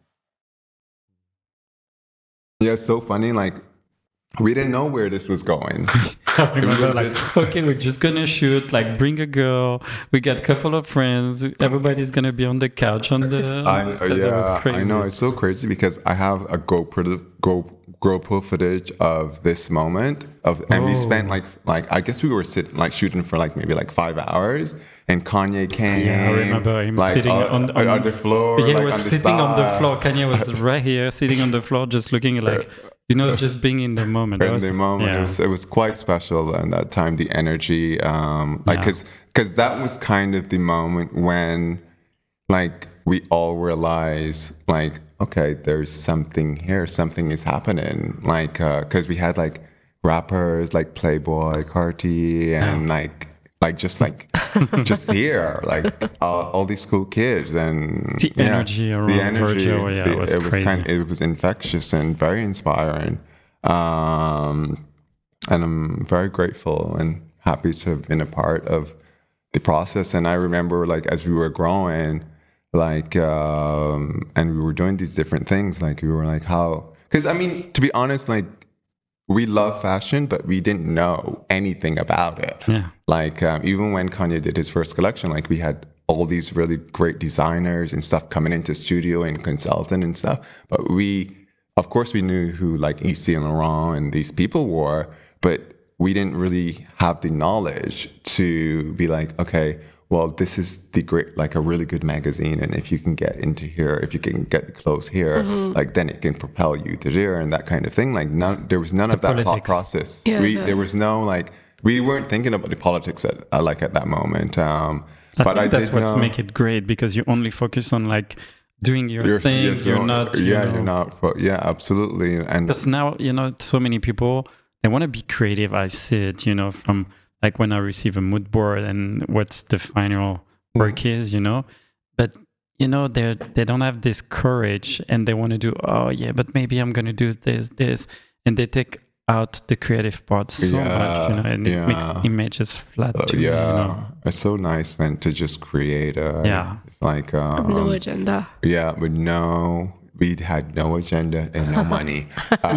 Yeah, it's so funny. Like we didn't know where this was going. I remember, like, just... okay, we're just gonna shoot. Like, bring a girl. We got a couple of friends. Everybody's gonna be on the couch on the. On I, the yeah, it was crazy. I know, it's so crazy because I have a GoPro Go GoPro footage of this moment of, and oh. we spent like like I guess we were sitting like shooting for like maybe like five hours. And Kanye came. Yeah, I remember him like, sitting uh, on, on, on the floor. Yeah, he like, was on the sitting on the side. floor. Kanye was right here, sitting on the floor, just looking like, you know, just being in the moment. In was, the moment, yeah. it was it was quite special. And that time, the energy, um, like, because yeah. because that was kind of the moment when, like, we all realized, like, okay, there's something here, something is happening. Like, because uh, we had like rappers like Playboy, Carti, and yeah. like. Like just like just here, like uh, all these cool kids, and the yeah, energy around the energy, Virgil, yeah, the, it was it was crazy. kind, it was infectious and very inspiring, um, and I'm very grateful and happy to have been a part of the process. And I remember, like as we were growing, like um, and we were doing these different things, like we were like how, because I mean, to be honest, like. We love fashion, but we didn't know anything about it. Yeah. Like, um, even when Kanye did his first collection, like we had all these really great designers and stuff coming into studio and consulting and stuff. But we, of course, we knew who like Yves Saint Laurent and these people were, but we didn't really have the knowledge to be like, okay, well, this is the great, like a really good magazine. And if you can get into here, if you can get close here, mm-hmm. like then it can propel you to there and that kind of thing. Like none, there was none the of that politics. Thought process. Yeah, we, the... There was no like, we weren't thinking about the politics at, uh, like at that moment. Um, I but think I that's did what know, make it great, because you only focus on like doing your you're, thing. You're, you're not, you yeah, know, you're not, yeah, absolutely. And because now, you know, so many people, they want to be creative. I see it, you know, from like when I receive a mood board and what's the final work mm. is, you know, but you know, they they don't have this courage, and they want to do, oh yeah, but maybe I'm going to do this, this, and they take out the creative part so yeah, much, you know, and yeah. it makes images flat uh, too. Yeah, you know? It's so nice, man, to just create a, yeah. It's like, um, no agenda. Yeah, but no, we had no agenda and no money.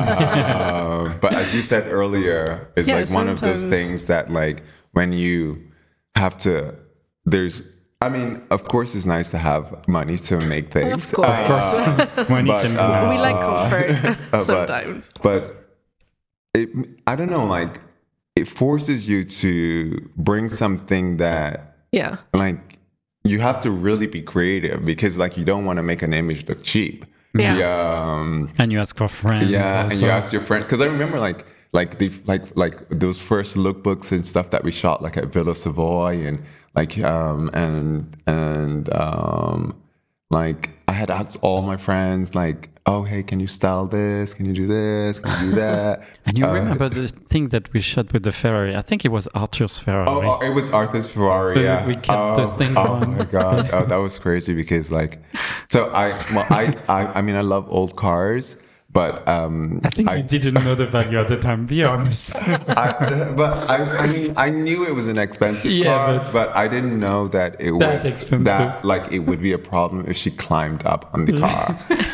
uh, but as you said earlier, it's yeah, like one sometimes. Of those things that like when you have to, there's, I mean, of course, it's nice to have money to make things. Of course. Uh, money but, can uh, we like comfort sometimes. But, but it, I don't know, like, it forces you to bring something that, yeah, like, you have to really be creative, because, like, you don't want to make an image look cheap. Yeah. yeah um, and you ask for friends. Yeah, also. And you ask your friends. Because I remember, like, like the like like those first lookbooks and stuff that we shot, like at Villa Savoy, and like um and and um like I had asked all my friends, like, oh hey, can you style this? Can you do this? Can you do that? And you uh, remember the thing that we shot with the Ferrari? I think it was Arthur's Ferrari. Oh, it was Arthur's Ferrari. Yeah, we kept oh, the thing oh going. my god, oh, that was crazy, because like, so I well I I, I mean I love old cars. But um, I think I, you didn't know the value at the time. Be honest. I, but I, I mean, I knew it was an expensive yeah, car, but, but I didn't know that it that was expensive. That like it would be a problem if she climbed up on the car.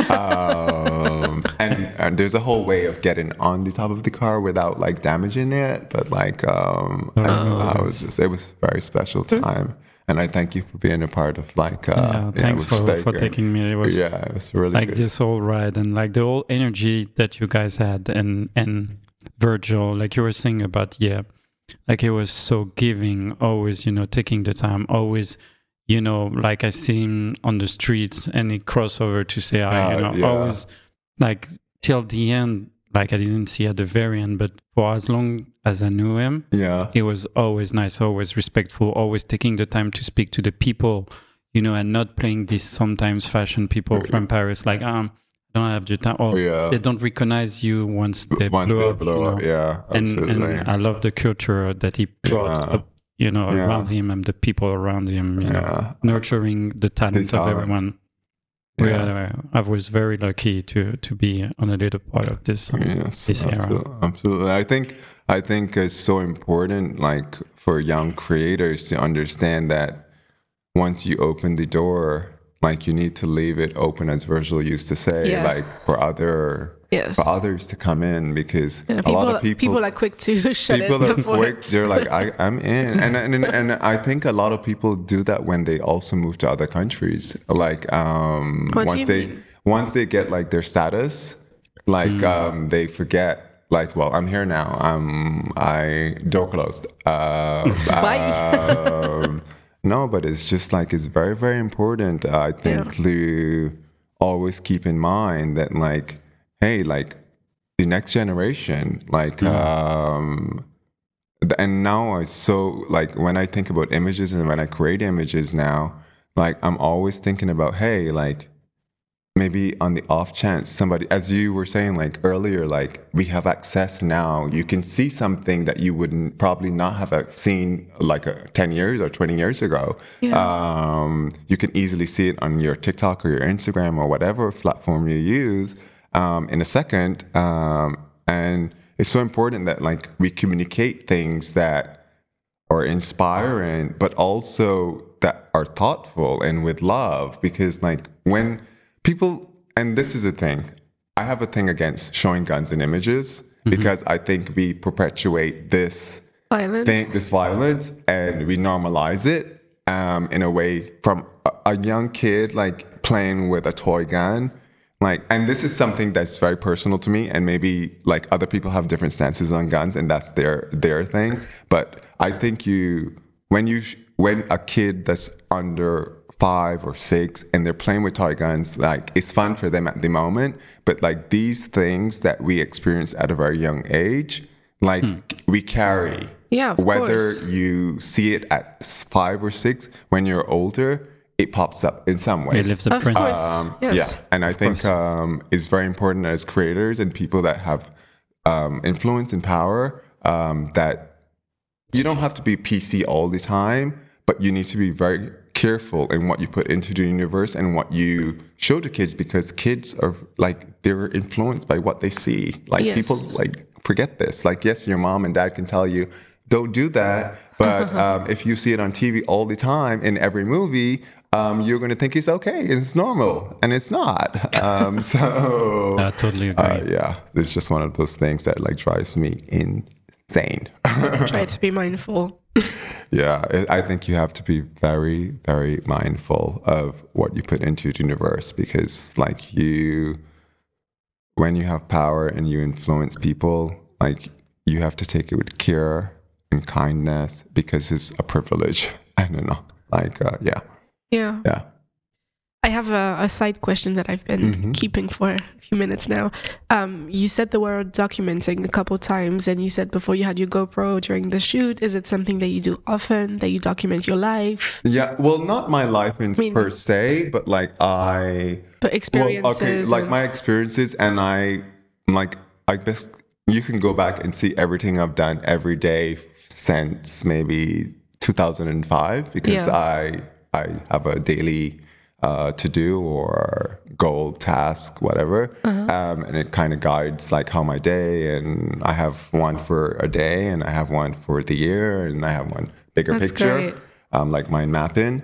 um, and, and there's a whole way of getting on the top of the car without like damaging it. But like, um, oh, I, I was just, it was a very special time. And I thank you for being a part of like. Uh, yeah, thanks yeah, for, for taking me. It was yeah, it was really like good. This whole ride, and like the whole energy that you guys had, and and Virgil, like you were saying about yeah, like it was so giving. Always, you know, taking the time. Always, you know, like I see him on the streets, and he cross over to say hi. Uh, you know, yeah. always like till the end. Like I didn't see at the very end, but for as long as I knew him, yeah, he was always nice, always respectful, always taking the time to speak to the people, you know, and not playing these sometimes fashion people okay. from Paris, like, um, I don't have the time, or yeah. they don't recognize you once they once blow they up. Blow you know? up. Yeah, absolutely. And, and I love the culture that he brought yeah. up, you know, yeah. around him and the people around him, you yeah. know, nurturing the talent the of everyone. Yeah. yeah, I was very lucky to to be on a little part of this um, yes, this absolutely, era. Absolutely, I think I think it's so important, like for young creators, to understand that once you open the door, like you need to leave it open, as Virgil used to say, yeah. like for other. Yes. For others to come in, because yeah, people, a lot of people people are quick to shut people it. People are quick. They're like, I, I'm in, and, and and I think a lot of people do that when they also move to other countries. Like um, what once they mean? once they get like their status, like mm. um, they forget. Like, well, I'm here now. I'm I door closed. Uh, Bye. um, no, but it's just like it's very very important. Uh, I think yeah. to always keep in mind that like. Hey, like the next generation, like, mm. um, and now I so like when I think about images and when I create images now, like I'm always thinking about, hey, like maybe on the off chance somebody, as you were saying like earlier, like we have access now, you can see something that you wouldn't probably not have seen like a, ten years or twenty years ago. Yeah. Um, you can easily see it on your TikTok or your Instagram or whatever platform you use. Um, in a second, um, and it's so important that like we communicate things that are inspiring, but also that are thoughtful and with love. Because like when people, and this is a thing, I have a thing against showing guns in images mm-hmm. because I think we perpetuate this violence, thing, this violence, and we normalize it um, in a way from a, a young kid like playing with a toy gun. Like, and this is something that's very personal to me, and maybe like other people have different stances on guns, and that's their their thing. But I think you, when you when a kid that's under five or six and they're playing with toy guns, like it's fun for them at the moment, but like these things that we experience at a very young age, like hmm. we carry. Yeah, of whether course. you see it at five or six, when you're older, it pops up in some way. It lives a print. Um, yes. Yeah, and I of think um, it's very important as creators and people that have um, influence and power um, that you don't have to be P C all the time, but you need to be very careful in what you put into the universe and what you show to kids, because kids are like, they're influenced by what they see. Like yes. people like forget this. Like, yes, your mom and dad can tell you, don't do that. But um, if you see it on T V all the time in every movie, um, you're going to think it's okay. It's normal. And it's not. Um, so I totally agree. Uh, yeah, it's just one of those things that like drives me insane. Try to be mindful. Yeah, I think you have to be very, very mindful of what you put into the universe, because like you, when you have power and you influence people, like you have to take it with care and kindness, because it's a privilege. I don't know. Like, uh, yeah. Yeah. Yeah. I have a, a side question that I've been mm-hmm. keeping for a few minutes now. Um, you said the word documenting a couple times, and you said before you had your GoPro during the shoot. Is it something that you do often, that you document your life? Yeah, well, not my life in, I mean, per se, but like I... But experiences. Well, okay, like and... my experiences, and I, like, I guess you can go back and see everything I've done every day since maybe two thousand five, because yeah. I I have a daily uh, to do or goal, task, whatever, uh-huh. um, and it kind of guides like how my day. And I have one for a day, and I have one for the year, and I have one bigger That's picture, great. Um, like mind mapping.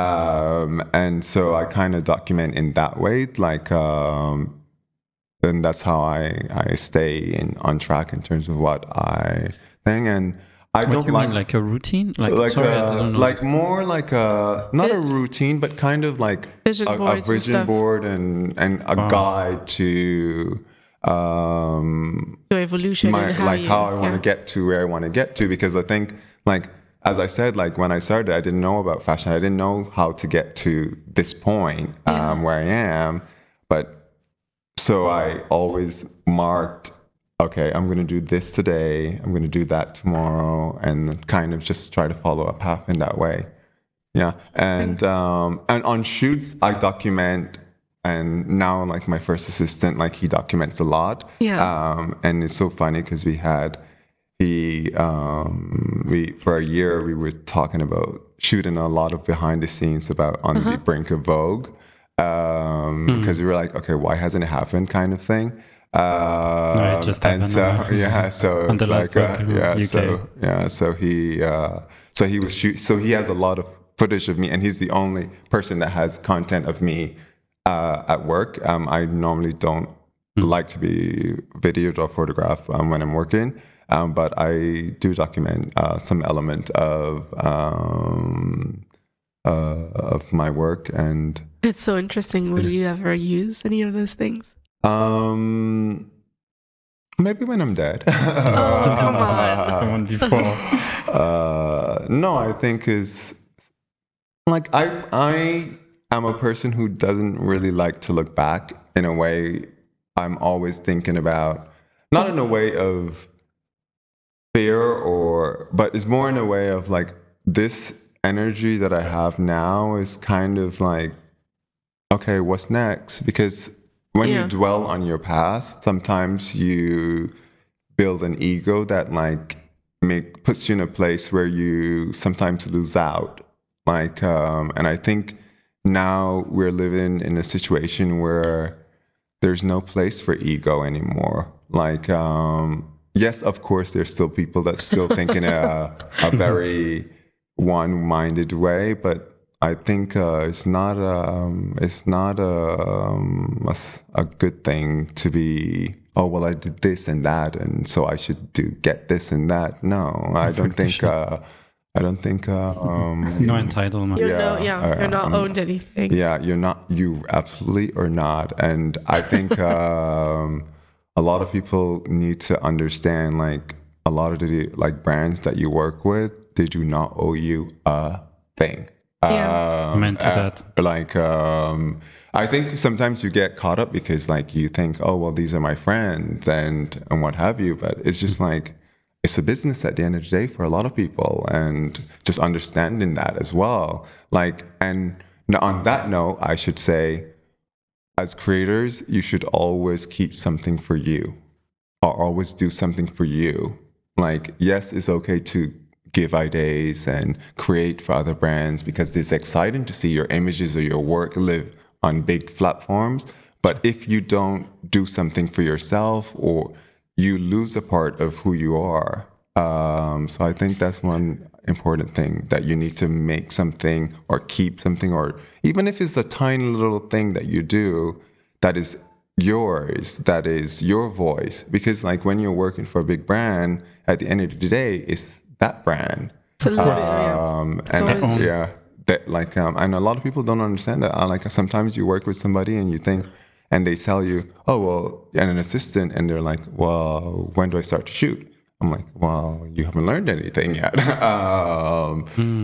Um, and so I kind of document in that way, like. Um, And that's how I, I stay in on track in terms of what I think. And I what don't you like mean, like a routine, like like sorry, a, I don't know. like more like a not a routine, but kind of like vision a, a vision board and and a wow. guide to um your evolution, my, and how like you, how I want to yeah. get to where I want to get to. Because I think like. As I said, like when I started, I didn't know about fashion. I didn't know how to get to this point um, yeah. where I am. But so I always marked, okay, I'm going to do this today. I'm going to do that tomorrow, and kind of just try to follow a path in that way. Yeah. And, um, and on shoots, I document. And now, like my first assistant, like he documents a lot. Yeah. Um, and it's so funny because we had, he, um, we, for a year, we were talking about shooting a lot of behind the scenes about On uh-huh. the Brink of Vogue. Um, because mm. we were like, okay, why hasn't it happened kind of thing. Um, no, it just and happened. so, yeah, so it's like, uh, yeah, U K. so, yeah, so he, uh, so he was shoot, so he has a lot of footage of me, and he's the only person that has content of me Uh, at work. Um, I normally don't mm. like to be videoed or photographed um, when I'm working, um, but I do document uh, some element of um, uh, of my work. And it's so interesting. Will you ever use any of those things? Um, maybe when I'm dead. Oh, come on! Come on, before. uh, no, I think is like I I. I'm a person who doesn't really like to look back. In a way, I'm always thinking about, not in a way of fear or, but it's more in a way of like, this energy that I have now is kind of like, okay, what's next? Because when yeah. you dwell on your past, sometimes you build an ego that like make, puts you in a place where you sometimes lose out. Like, um, and I think, now we're living in a situation where there's no place for ego anymore. Like, um, yes, of course, there's still people that still think in a, a very one-minded way, but I think uh, it's not um, it's not a, um, a, a good thing to be, oh, well, I did this and that, and so I should do get this and that. No, I don't think... Uh, I don't think uh, um, no entitlement. You're yeah, no, yeah, uh, you're not um, owned anything. Yeah, you're not. You absolutely are not. And I think um, a lot of people need to understand. Like a lot of the like brands that you work with, they do not owe you a thing. Yeah. Um, Amen to uh, that. Like, um, I think sometimes you get caught up because like you think, oh, well, these are my friends and, and what have you. But it's just like, it's a business at the end of the day for a lot of people, and just understanding that as well. Like, and on that note, I should say, as creators, you should always keep something for you, or always do something for you. Like, yes, it's okay to give ideas and create for other brands because it's exciting to see your images or your work live on big platforms. But if you don't do something for yourself, or you lose a part of who you are. Um, so I think that's one important thing, that you need to make something or keep something, or even if it's a tiny little thing that you do that is yours, that is your voice. Because like when you're working for a big brand, at the end of the day, it's that brand. It's a little bit, yeah. Um, and Always. yeah, that like, um, and a lot of people don't understand that. Uh, Like sometimes you work with somebody and you think, and they tell you, oh, well, and an assistant, and they're like, well, when do I start to shoot? I'm like, well, you haven't learned anything yet. um, Mm.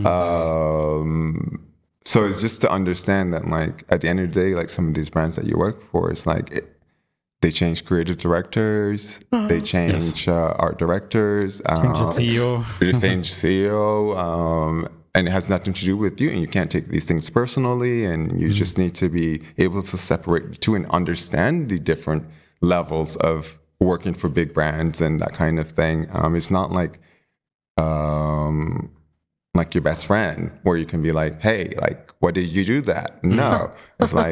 um, so it's just to understand that, like, at the end of the day, like some of these brands that you work for, it's like, it, they change creative directors, they change uh, art directors, Change the um, C E O. they change C E O, um, and it has nothing to do with you, and you can't take these things personally, and you just need to be able to separate the two and understand the different levels of working for big brands and that kind of thing. Um, it's not like um, like your best friend where you can be like, hey, like, what did you do that? No, it's like,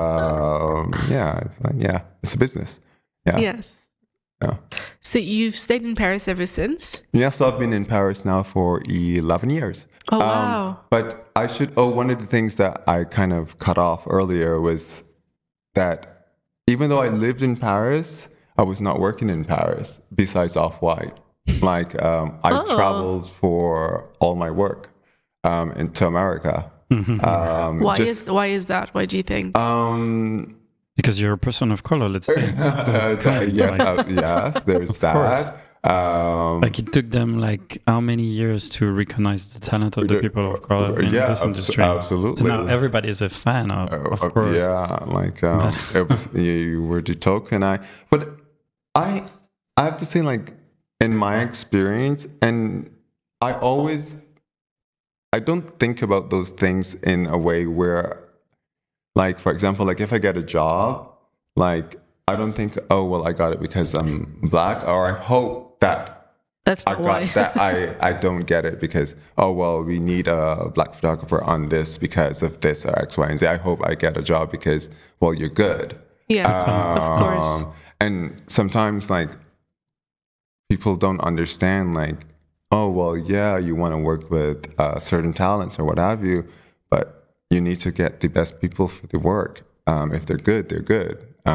um, yeah, it's like, yeah, it's a business. Yeah. Yes. Yeah. So you've stayed in Paris ever since? Yeah, so I've been in Paris now for eleven years. Oh, wow. But I should, oh, one of the things that I kind of cut off earlier was that even though I lived in Paris, I was not working in Paris besides Off-White. Like, um, I Oh. traveled for all my work um, into America. Um, Why just, is why is that? Why do you think? um, Because you're a person of color, let's say. uh, yes, uh, yes, there's course. that. Um, Like it took them like how many years to recognize the talent of the people of color in Yeah, this abso- industry? absolutely. So now everybody is a fan of, of Uh, course. Yeah, like um, it was, you were the token. I, but I, I have to say, like in my experience, and I always, I don't think about those things in a way where, like for example, like if I get a job, like I don't think, oh well, I got it because I'm black, or I hope that That's I not got why. that I, I don't get it because, oh, well, we need a black photographer on this because of this or X, Y, and Z. I hope I get a job because, well, you're good. Yeah, of course. Um, And sometimes, like, people don't understand, like, oh, well, yeah, you want to work with uh, certain talents or what have you, but you need to get the best people for the work. Um, if they're good, they're good.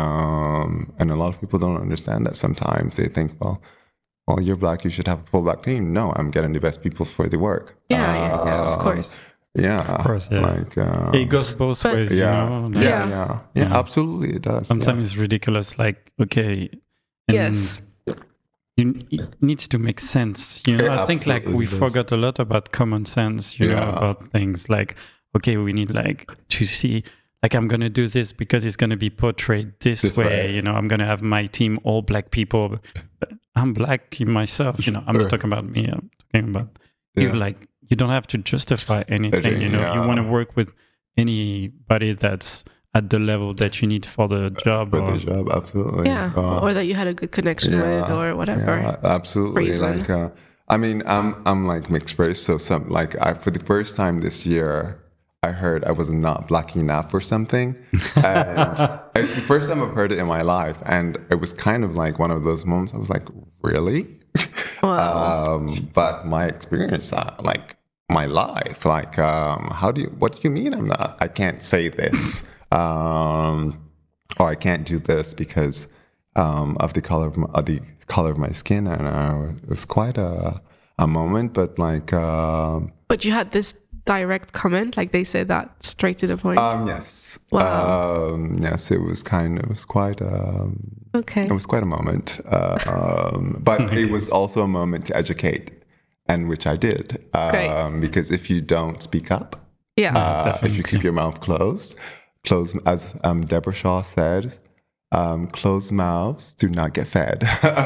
Um, and a lot of people don't understand that sometimes. They think, well, well, you're black, you should have a full black team. No, I'm getting the best people for the work. Yeah, yeah, yeah, of Um, course. Yeah. Of course, yeah. Like, um, It goes both But- ways, yeah, you know? yeah, Like, yeah, Yeah. yeah, Yeah. absolutely, it does. Sometimes yeah. it's ridiculous, like, okay. and Yes. You, it needs to make sense. You know, It I think like absolutely we does. forgot a lot about common sense, you know, Yeah. about things like, okay, we need like to see, like, I'm going to do this because it's going to be portrayed this, This way. way. You know, I'm going to have my team all black people. But I'm black myself, you know, I'm not Sure. talking about me. I'm talking about you. Yeah. Like, you don't have to justify anything, you know, you Yeah. want to work with anybody that's at the level that you need for the job. For or, the job, absolutely. Yeah, Uh, or that you had a good connection with, or whatever. Yeah, absolutely. reason. Like, uh, I mean, I'm I'm like mixed race, so some like I for the first time this year, I heard I was not black enough or something, and it's the first time I've heard it in my life, and it was kind of like one of those moments. I was like, really? Wow. Um, but my experience, uh, like my life, like um, how do you? What do you mean I'm not? I can't say this, um, or I can't do this because um, of the color of, my, of the color of my skin, and uh, it was quite a a moment. But like, um, But you had this direct comment, like they said that straight to the point. um, yes, Wow. um, yes, it was kind. It was quite. Um, Okay. It was quite a moment, uh, um, but it was also a moment to educate and which I did. Great. Um, because if you don't speak up, Yeah. uh, if you keep your mouth closed, close as um, Deborah Shaw said, um, closed mouths do not get fed.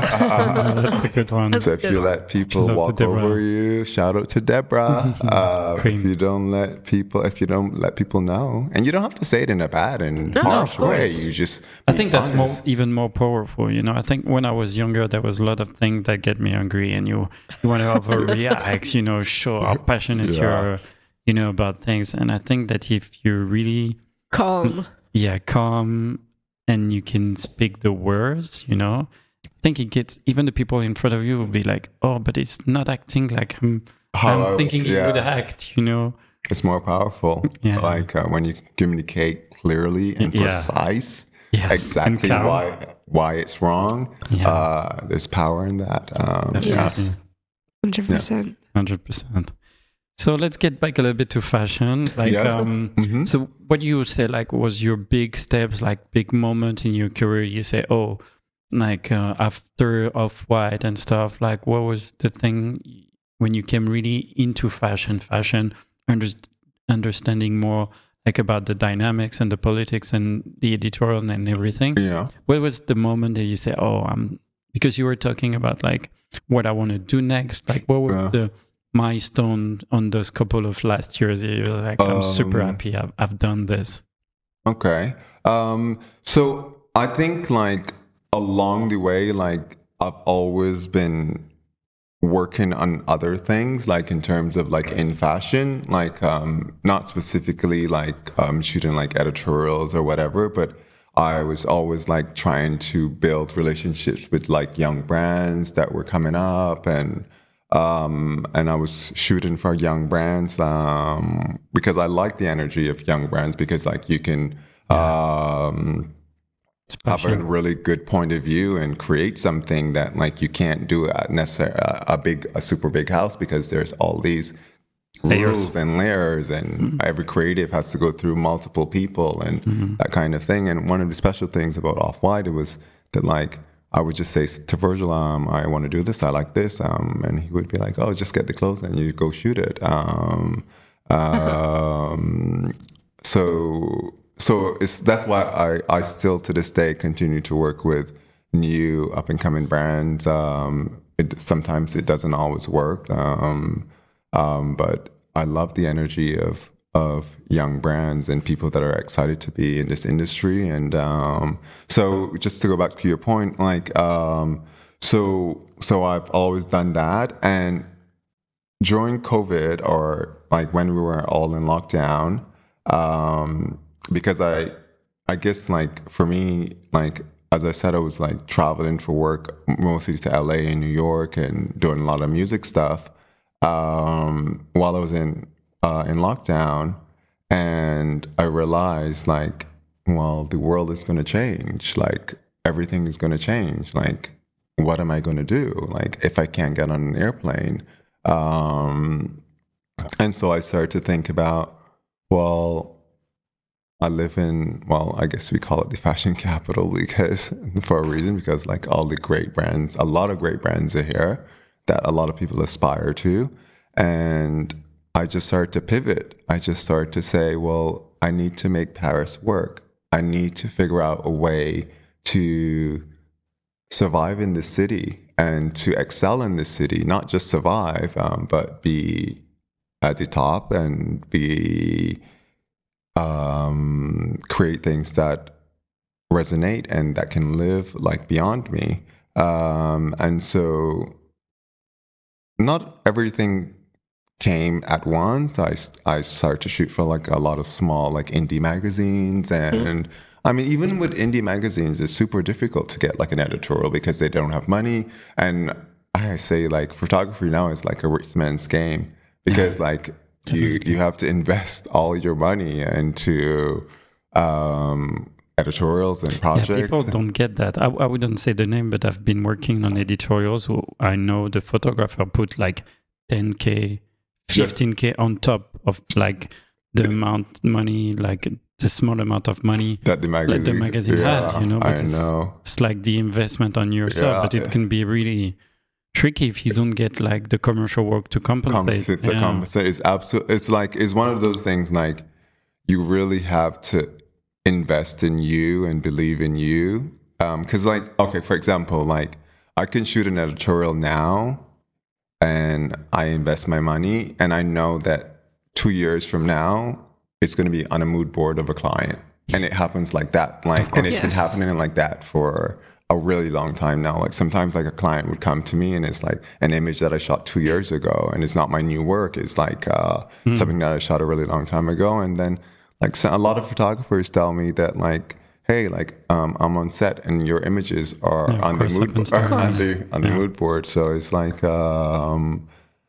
Oh, that's a good one. That's So a if good you one. let people Shout out to walk Deborah. over you, shout out to Deborah. uh, if Queen. you don't let people, if you don't let people know, and you don't have to say it in a bad and No, harsh of way. course. You just. I be think that's more, honest. even more powerful. You know, I think when I was younger, there was a lot of things that get me angry, and you you want to overreact. You know, show how passionate you Yeah. are. You know about things, and I think that if you're really Calm. yeah calm and you can speak the words, you know, I think it gets even the people in front of you will be like, oh, but it's not acting like I'm, How I'm I- thinking he yeah. would act. You know, It's more powerful. Yeah. Like uh, when you communicate clearly and Yeah. precise Yes, exactly and calm. why why it's wrong. Yeah. Uh, there's power in that. Um, Definitely. yeah. Yes. one hundred percent. Hundred percent. So let's get back a little bit to fashion. Like, Yes. um, Mhm. so what you say, like, was your big steps, like big moment in your career? You say, oh, like uh, after Off-White and stuff. Like, what was the thing when you came really into fashion? Fashion, under, understanding more like about the dynamics and the politics and the editorial and everything. Yeah. What was the moment that you say, oh, I'm because you were talking about like what I want to do next? Like, what was Yeah. the milestone on those couple of last years? You were like, I'm super Um, happy I've, I've done this. Okay. Um, so I think like along the way, like I've always been working on other things, like in terms of like in fashion, like um, not specifically like um, shooting like editorials or whatever, but I was always like trying to build relationships with like young brands that were coming up, and um, and I was shooting for young brands um, because I like the energy of young brands, because like you can um, have a Passion. really good point of view and create something that like you can't do at necessarily a, a big a super big house, because there's all these Layers. rules and layers, and every creative has to go through multiple people and that kind of thing. And one of the special things about Off-White, it was that like I would just say to Virgil, um, I want to do this, I like this, um, and he would be like, oh, just get the clothes and you go shoot it. Um, um, so so it's that's why I, I still to this day continue to work with new up and coming brands. Um, it, sometimes it doesn't always work. Um, Um, but I love the energy of of young brands and people that are excited to be in this industry. And um, so, just to go back to your point, like, um, so so I've always done that. And during COVID, or like when we were all in lockdown, um, because I, I guess like for me, like as I said, I was like traveling for work mostly to L A and New York and doing a lot of music stuff. Um, while I was in uh, in lockdown, and I realized like, well, the world is going to change. Like everything is going to change. Like, what am I going to do? Like, if I can't get on an airplane, um, and so I started to think about, well, I live in, well, I guess we call it the fashion capital because for a reason, because like all the great brands, a lot of great brands are here that a lot of people aspire to. And I just started to pivot. I just started to say, well, I need to make Paris work. I need to figure out a way to survive in this city and to excel in this city, not just survive, um, but be at the top and be um, create things that resonate and that can live like beyond me. Um, and so not everything came at once. I, I started to shoot for like a lot of small like indie magazines. And mm. I mean, even with indie magazines, it's super difficult to get like an editorial because they don't have money. And I say like photography now is like a rich man's game because yeah, like you, you have to invest all your money into um, editorials and projects. Yeah, people don't get that. I, I wouldn't say the name, but I've been working on editorials who I know the photographer put like ten K, fifteen K on top of like the amount money, like the small amount of money that the magazine, like the magazine yeah, had, you know. But I it's, know. It's like the investment on yourself, yeah, but it can be really tricky if you don't get like the commercial work to compensate. Compensate, to Yeah. compensate is absolutely. It's like it's one of those things. Like you really have to invest in you and believe in you. Because, like, okay, for example, like I can shoot an editorial now, and I invest my money, and I know that two years from now it's going to be on a mood board of a client, and it happens like that. Like, and it's Yes. been happening like that for a really long time now. Like sometimes like a client would come to me and it's like an image that I shot two years ago and it's not my new work. It's like uh, mm. something that I shot a really long time ago. And then like so a lot of photographers tell me that like, hey, like um, I'm on set and your images are Yeah, on the mood happens board, to on us. the on the Yeah. mood board. So it's like um,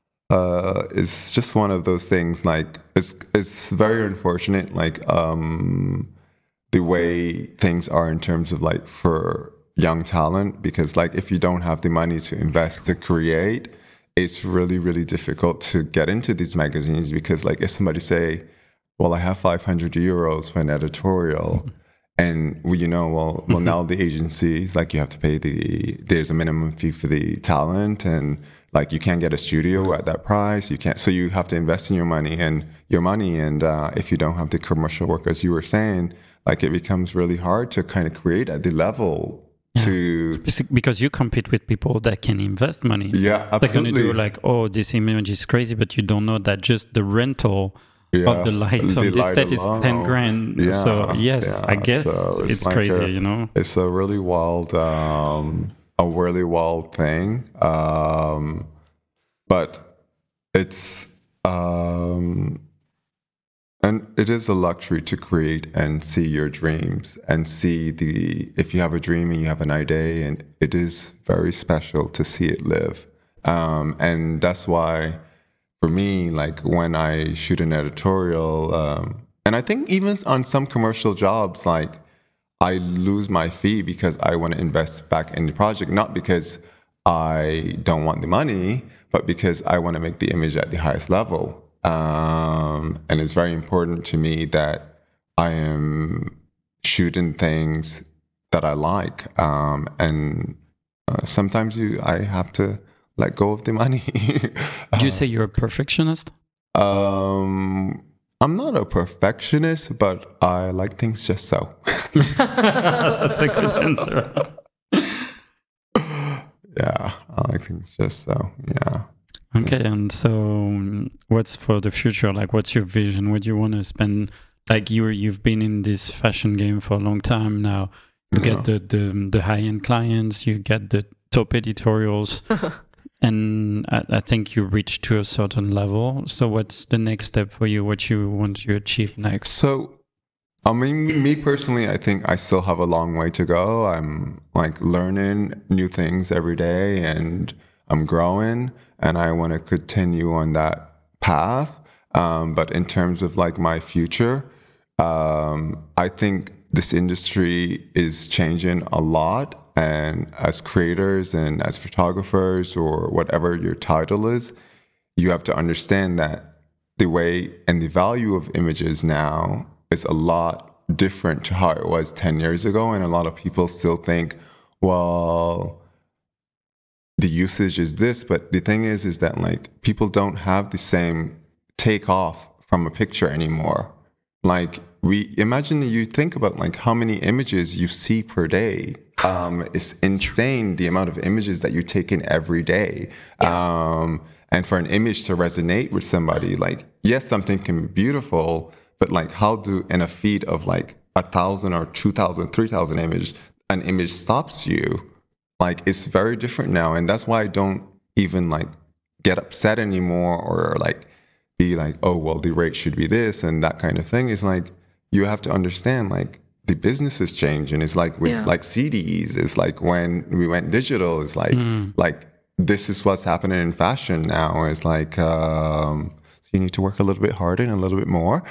uh, it's just one of those things. Like it's it's very unfortunate. Like um, the way things are in terms of like for young talent, because like if you don't have the money to invest to create, it's really really difficult to get into these magazines. Because like if somebody say, well, I have five hundred euros for an editorial, and well, you know, well, well, now the agencies, like you have to pay the, there's a minimum fee for the talent, and like you can't get a studio at that price. You can't, so you have to invest in your money and your money. And uh, if you don't have the commercial work, as you were saying, like it becomes really hard to kind of create at the level Yeah. to, Because you compete with people that can invest money. yeah, They're going absolutely. to do like, oh, this image is crazy, but you don't know that just the rental Yeah, of the light the on this light set is alone. ten grand. Yeah, so yes, yeah. I guess So it's, like crazy, a- you know? It's a really wild, um, a really wild thing. Um, but it's, um, and it is a luxury to create and see your dreams and see the, if you have a dream and you have an idea, and it is very special to see it live. Um, and that's why, for me, like when I shoot an editorial, um, and I think even on some commercial jobs, like I lose my fee because I want to invest back in the project, not because I don't want the money, but because I want to make the image at the highest level. Um, and it's very important to me that I am shooting things that I like. Um, and uh, sometimes you, I have to let go of the money. Do you say you're a perfectionist? Um, I'm not a perfectionist, but I like things just so. That's a good answer. Yeah, I like things just so. Yeah. Okay, and so um, what's for the future? Like, what's your vision? What do you want to spend? Like, you you've been in this fashion game for a long time now. You Yeah. get the the, the high end clients. You get the top editorials. And I, I think you reached to a certain level. So what's the next step for you? What you want to achieve next? So, I mean, me personally, I think I still have a long way to go. I'm like learning new things every day, and I'm growing, and I want to continue on that path. Um, but in terms of like my future, um, I think this industry is changing a lot. And as creators and as photographers, or whatever your title is, you have to understand that the way and the value of images now is a lot different to how it was ten years ago. And a lot of people still think, well, the usage is this. But the thing is, is that like people don't have the same take off from a picture anymore. Like we imagine, you think about like how many images you see per day. Um, it's insane the amount of images that you take in every day. Um, and for an image to resonate with somebody, like, yes, something can be beautiful, but like how do, in a feed of like a thousand or two thousand, three thousand images, an image stops you? Like, it's very different now. And that's why I don't even like get upset anymore, or like be like, oh, well, the rate should be this and that kind of thing. Is like, you have to understand, like, the business is changing. It's like with Yeah. like C Ds. It's like when we went digital. It's like Mm. like this is what's happening in fashion now. It's like um, so you need to work a little bit harder and a little bit more.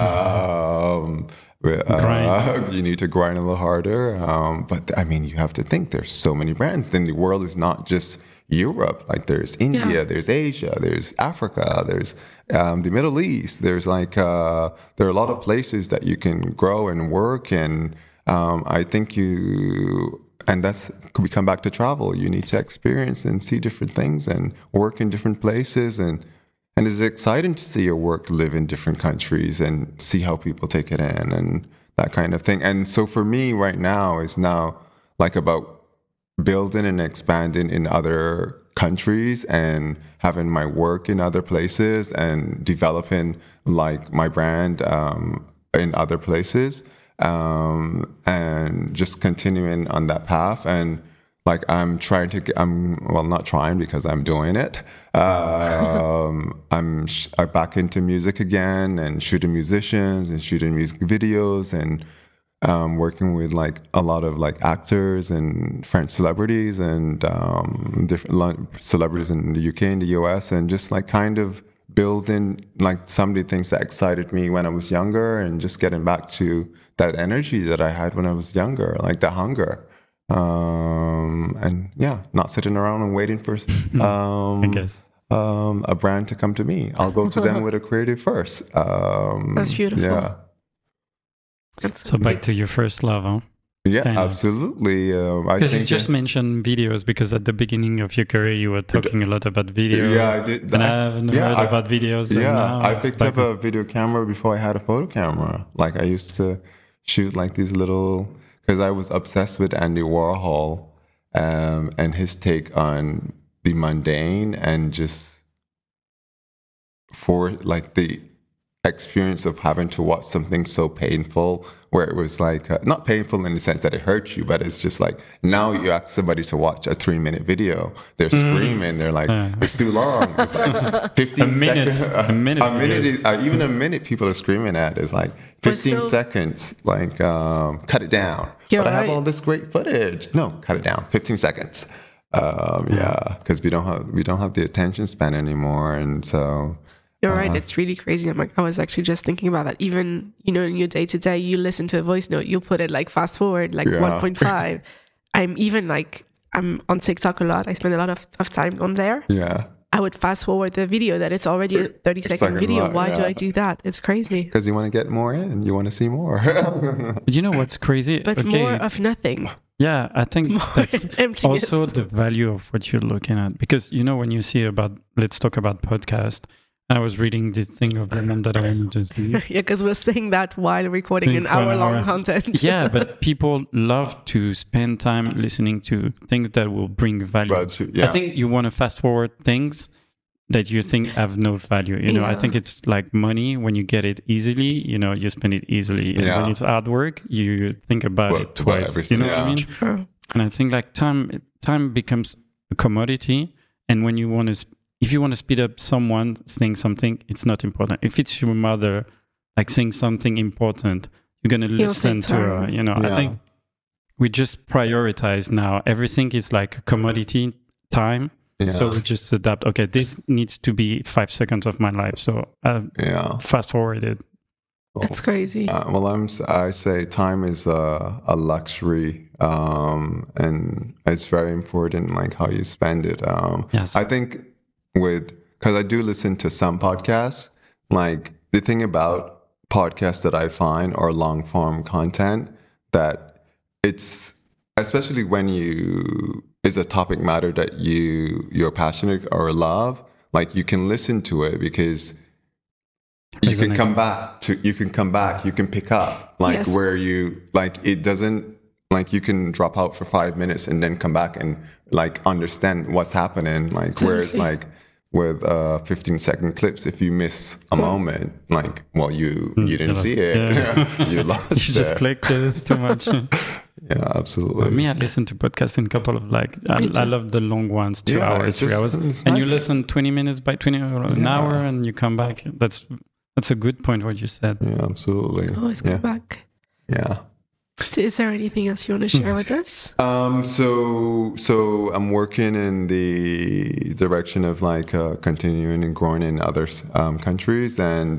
Um, uh, Grind. you need to grind a little harder. Um, but I mean, you have to think there's so many brands. Then the world is not just Europe. Like there's India, Yeah. there's Asia, there's Africa, there's um, the Middle East. There's like uh, there are a lot of places that you can grow and work. And um, I think you and that's we come back to travel. You need to experience and see different things and work in different places, and and it's exciting to see your work live in different countries and see how people take it in and that kind of thing. And so for me right now is now like about building and expanding in other countries and having my work in other places and developing like my brand um, in other places, um, and just continuing on that path. And like I'm trying to get, I'm well not trying because I'm doing it. Um, I'm sh- I'm back into music again and shooting musicians and shooting music videos and um, working with like a lot of like actors and French celebrities and um, different celebrities in the U K and the U S, and just like kind of building like some of the things that excited me when I was younger and just getting back to that energy that I had when I was younger, like the hunger. Um, and yeah, not sitting around and waiting for um, I guess. um, a brand to come to me. I'll go to them with a creative first. Um, That's beautiful. Yeah. That's So back to your first love, huh? Yeah, Kind of. absolutely. Um, I Because you think just that- mentioned videos, because at the beginning of your career you were talking a lot about videos. Yeah, I did. And I- I haven't yeah, heard I- about videos. and Yeah, now I it's picked back up a video camera before I had a photo camera. Like I used to shoot like these little, because I was obsessed with Andy Warhol um, and his take on the mundane and just for like the experience of having to watch something so painful, where it was like uh, not painful in the sense that it hurts you, but it's just like now you ask somebody to watch a three minute video, they're screaming, they're like, Yeah. it's too long, it's like fifteen A minute, seconds, a minute a minute videos. is, uh, even a minute people are screaming at is like But fifteen so- seconds, like um, cut it down. You're but I have right. all this great footage. No, cut it down, fifteen seconds. Um, yeah, because we don't have we don't have the attention span anymore, and so. You're right. Uh-huh. It's really crazy. I'm like, I was actually just thinking about that. Even, you know, in your day to day, you listen to a voice note, you'll put it like fast forward, like Yeah. one point five. I'm even like, I'm on TikTok a lot. I spend a lot of, of time on there. Yeah, I would fast forward the video that it's already a thirty second Second video. long, Why do yeah. I do that? It's crazy. because you want to get more in, you want to see more. But you know what's crazy? But Okay, more of nothing. yeah, I think More that's emptiness. also the value of what you're looking at. Because, you know, when you see about, let's talk about podcast, I was reading this thing of the one that I wanted to see. Yeah, because we're saying that while recording Think an for an hour long hour. content. Yeah, but people love to spend time listening to things that will bring value. But, yeah. I think you want to fast forward things that you think have no value. You know, I Yeah. think it's like money. When you get it easily, you know, you spend it easily. And Yeah. when it's hard work, you think about Well, it twice. well, You know everything, what I yeah. mean? True. And I think like time, time becomes a commodity. And when you want to, if you want to speed up someone saying something, it's not important. If it's your mother, like saying something important, you're gonna You'll listen take to her. time. You know, I Yeah. think we just prioritize now. Everything is like a commodity time. Yeah. So we just adapt. Okay, this needs to be five seconds of my life. So I yeah. fast forwarded. It's crazy. Uh, well, I'm. s- I say time is a, a luxury, um, and it's very important, like how you spend it. Um, Yes. I think with because I do listen to some podcasts. Like the thing about podcasts that I find or long form content that it's especially when you is a topic matter that you you're passionate or love. Like you can listen to it because you There's an can come back to you can come back you can pick up like Yes. where you like it doesn't like you can drop out for five minutes and then come back and like understand what's happening like whereas Absolutely. like with uh fifteen second clips if you miss a moment like well you you didn't lost see it. it Yeah. you lost You just it. clicked it. It's too much. Yeah, absolutely. Me, I listen to podcasts in a couple of like, I, Me too. I love the long ones, two Yeah, hours, it's three just- hours. it's And you nice. listen twenty minutes by twenty, or an Yeah. hour, and you come back. That's that's a good point, what you said. Yeah, absolutely. Always yeah. come back. Yeah. Is there anything else you want to share with us? Um, so so I'm working in the direction of like uh, continuing and growing in other um, countries, and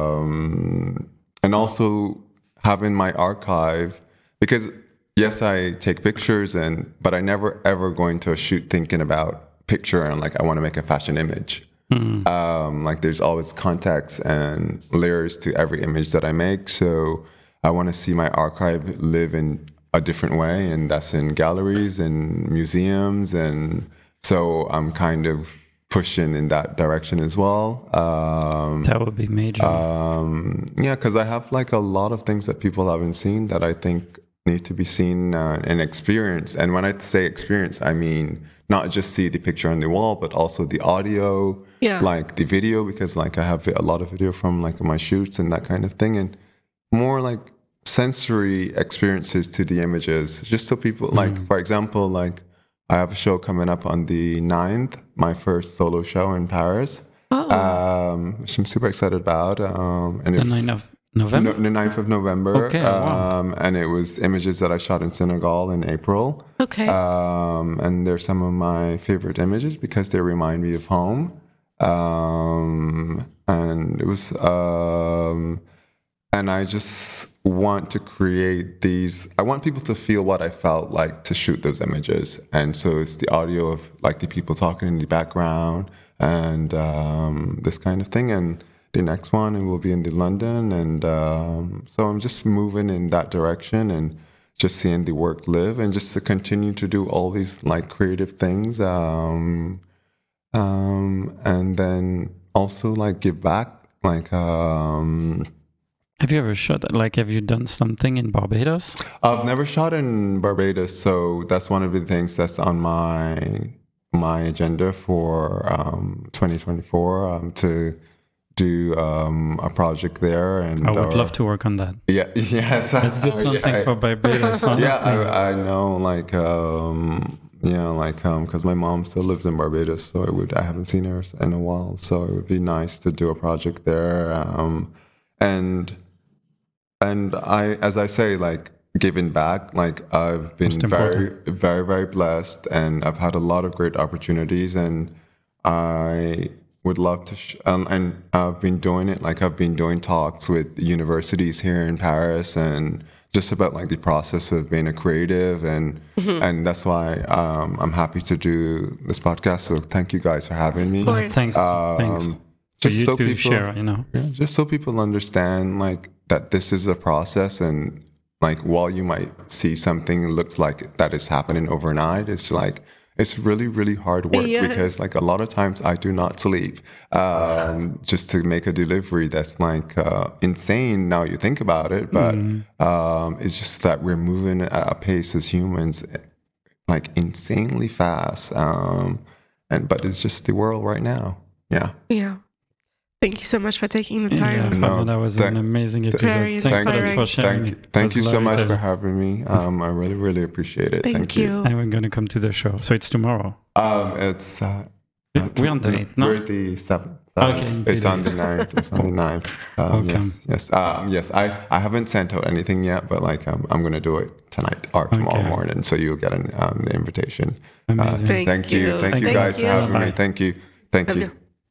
um, and also having my archive because yes, I take pictures, and but I never ever go into a shoot thinking about picture and like I want to make a fashion image. Um, like there's always context and layers to every image that I make, so I want to see my archive live in a different way, and that's in galleries and museums, and so I'm kind of pushing in that direction as well. Um, That would be major. um, yeah, because I have like a lot of things that people haven't seen that I think need to be seen uh, and experienced. And when I say experience, I mean not just see the picture on the wall, but also the audio, Yeah. like the video, because like I have a lot of video from like my shoots and that kind of thing, and more like sensory experiences to the images, just so people like, for example, like I have a show coming up on the ninth, my first solo show in Paris, um, which I'm super excited about. Um, and the it was, ninth of November? No, the ninth of November. Okay, wow. um, and it was images that I shot in Senegal in April. Okay. Um, and they're some of my favorite images because they remind me of home. Um, and it was, um, and I just want to create these, I want people to feel what I felt like to shoot those images. And so it's the audio of like the people talking in the background and um, this kind of thing. And the next one, it will be in the London. And um, so I'm just moving in that direction and just seeing the work live and just to continue to do all these like creative things. Um, um, and then also like give back, like, um, Have you ever shot, like, have you done something in Barbados? I've never shot in Barbados, so that's one of the things that's on my my agenda for um, twenty twenty-four um, to do um, a project there. And I would or- love to work on that. Yeah, yes. Let's do something yeah, for Barbados, honestly. yeah, I, I know, like, um, yeah, like, um, because my mom still lives in Barbados, so it would I haven't seen her in a while, so it would be nice to do a project there, um, and. And I, as I say, like giving back, like I've been Most very, important. very, very blessed, and I've had a lot of great opportunities, and I would love to. Sh- um, and I've been doing it, like I've been doing talks with universities here in Paris, and just about like the process of being a creative, and and that's why um, I'm happy to do this podcast. So thank you guys for having me. Of course. Thanks. Um, Thanks. For just you so to people- share, you know. Yeah, just so people understand like that this is a process, and like while you might see something looks like that is happening overnight, it's like it's really really hard work Yes. because like a lot of times I do not sleep um, just to make a delivery that's like uh, insane now you think about it, but um, it's just that we're moving at a pace as humans like insanely fast, um, and but it's just the world right now. Yeah. Yeah. Thank you so much for taking the Yeah, time. Fabio, No, that was thank- an amazing Very episode. Thanks Thank for, inspiring. for sharing. Thank you, It thank was you so lovely much to- for having me. Um, I really, really appreciate it. Thank, Thank, you. And we're going to come to the show. So it's tomorrow. Um, it's uh, uh, We're on the eighth, no? We're the seventh. Okay, in two it's on days. the ninth. It's on the ninth. Um, Okay. Yes, yes, um, yes. I, I haven't sent out anything yet, but like um, I'm gonna do it tonight or tomorrow Okay. morning, so you'll get an um, the invitation. Amazing. Uh, Thank thank you, you. thank, Thank you you. guys for having Bye. me. Thank you, thank you.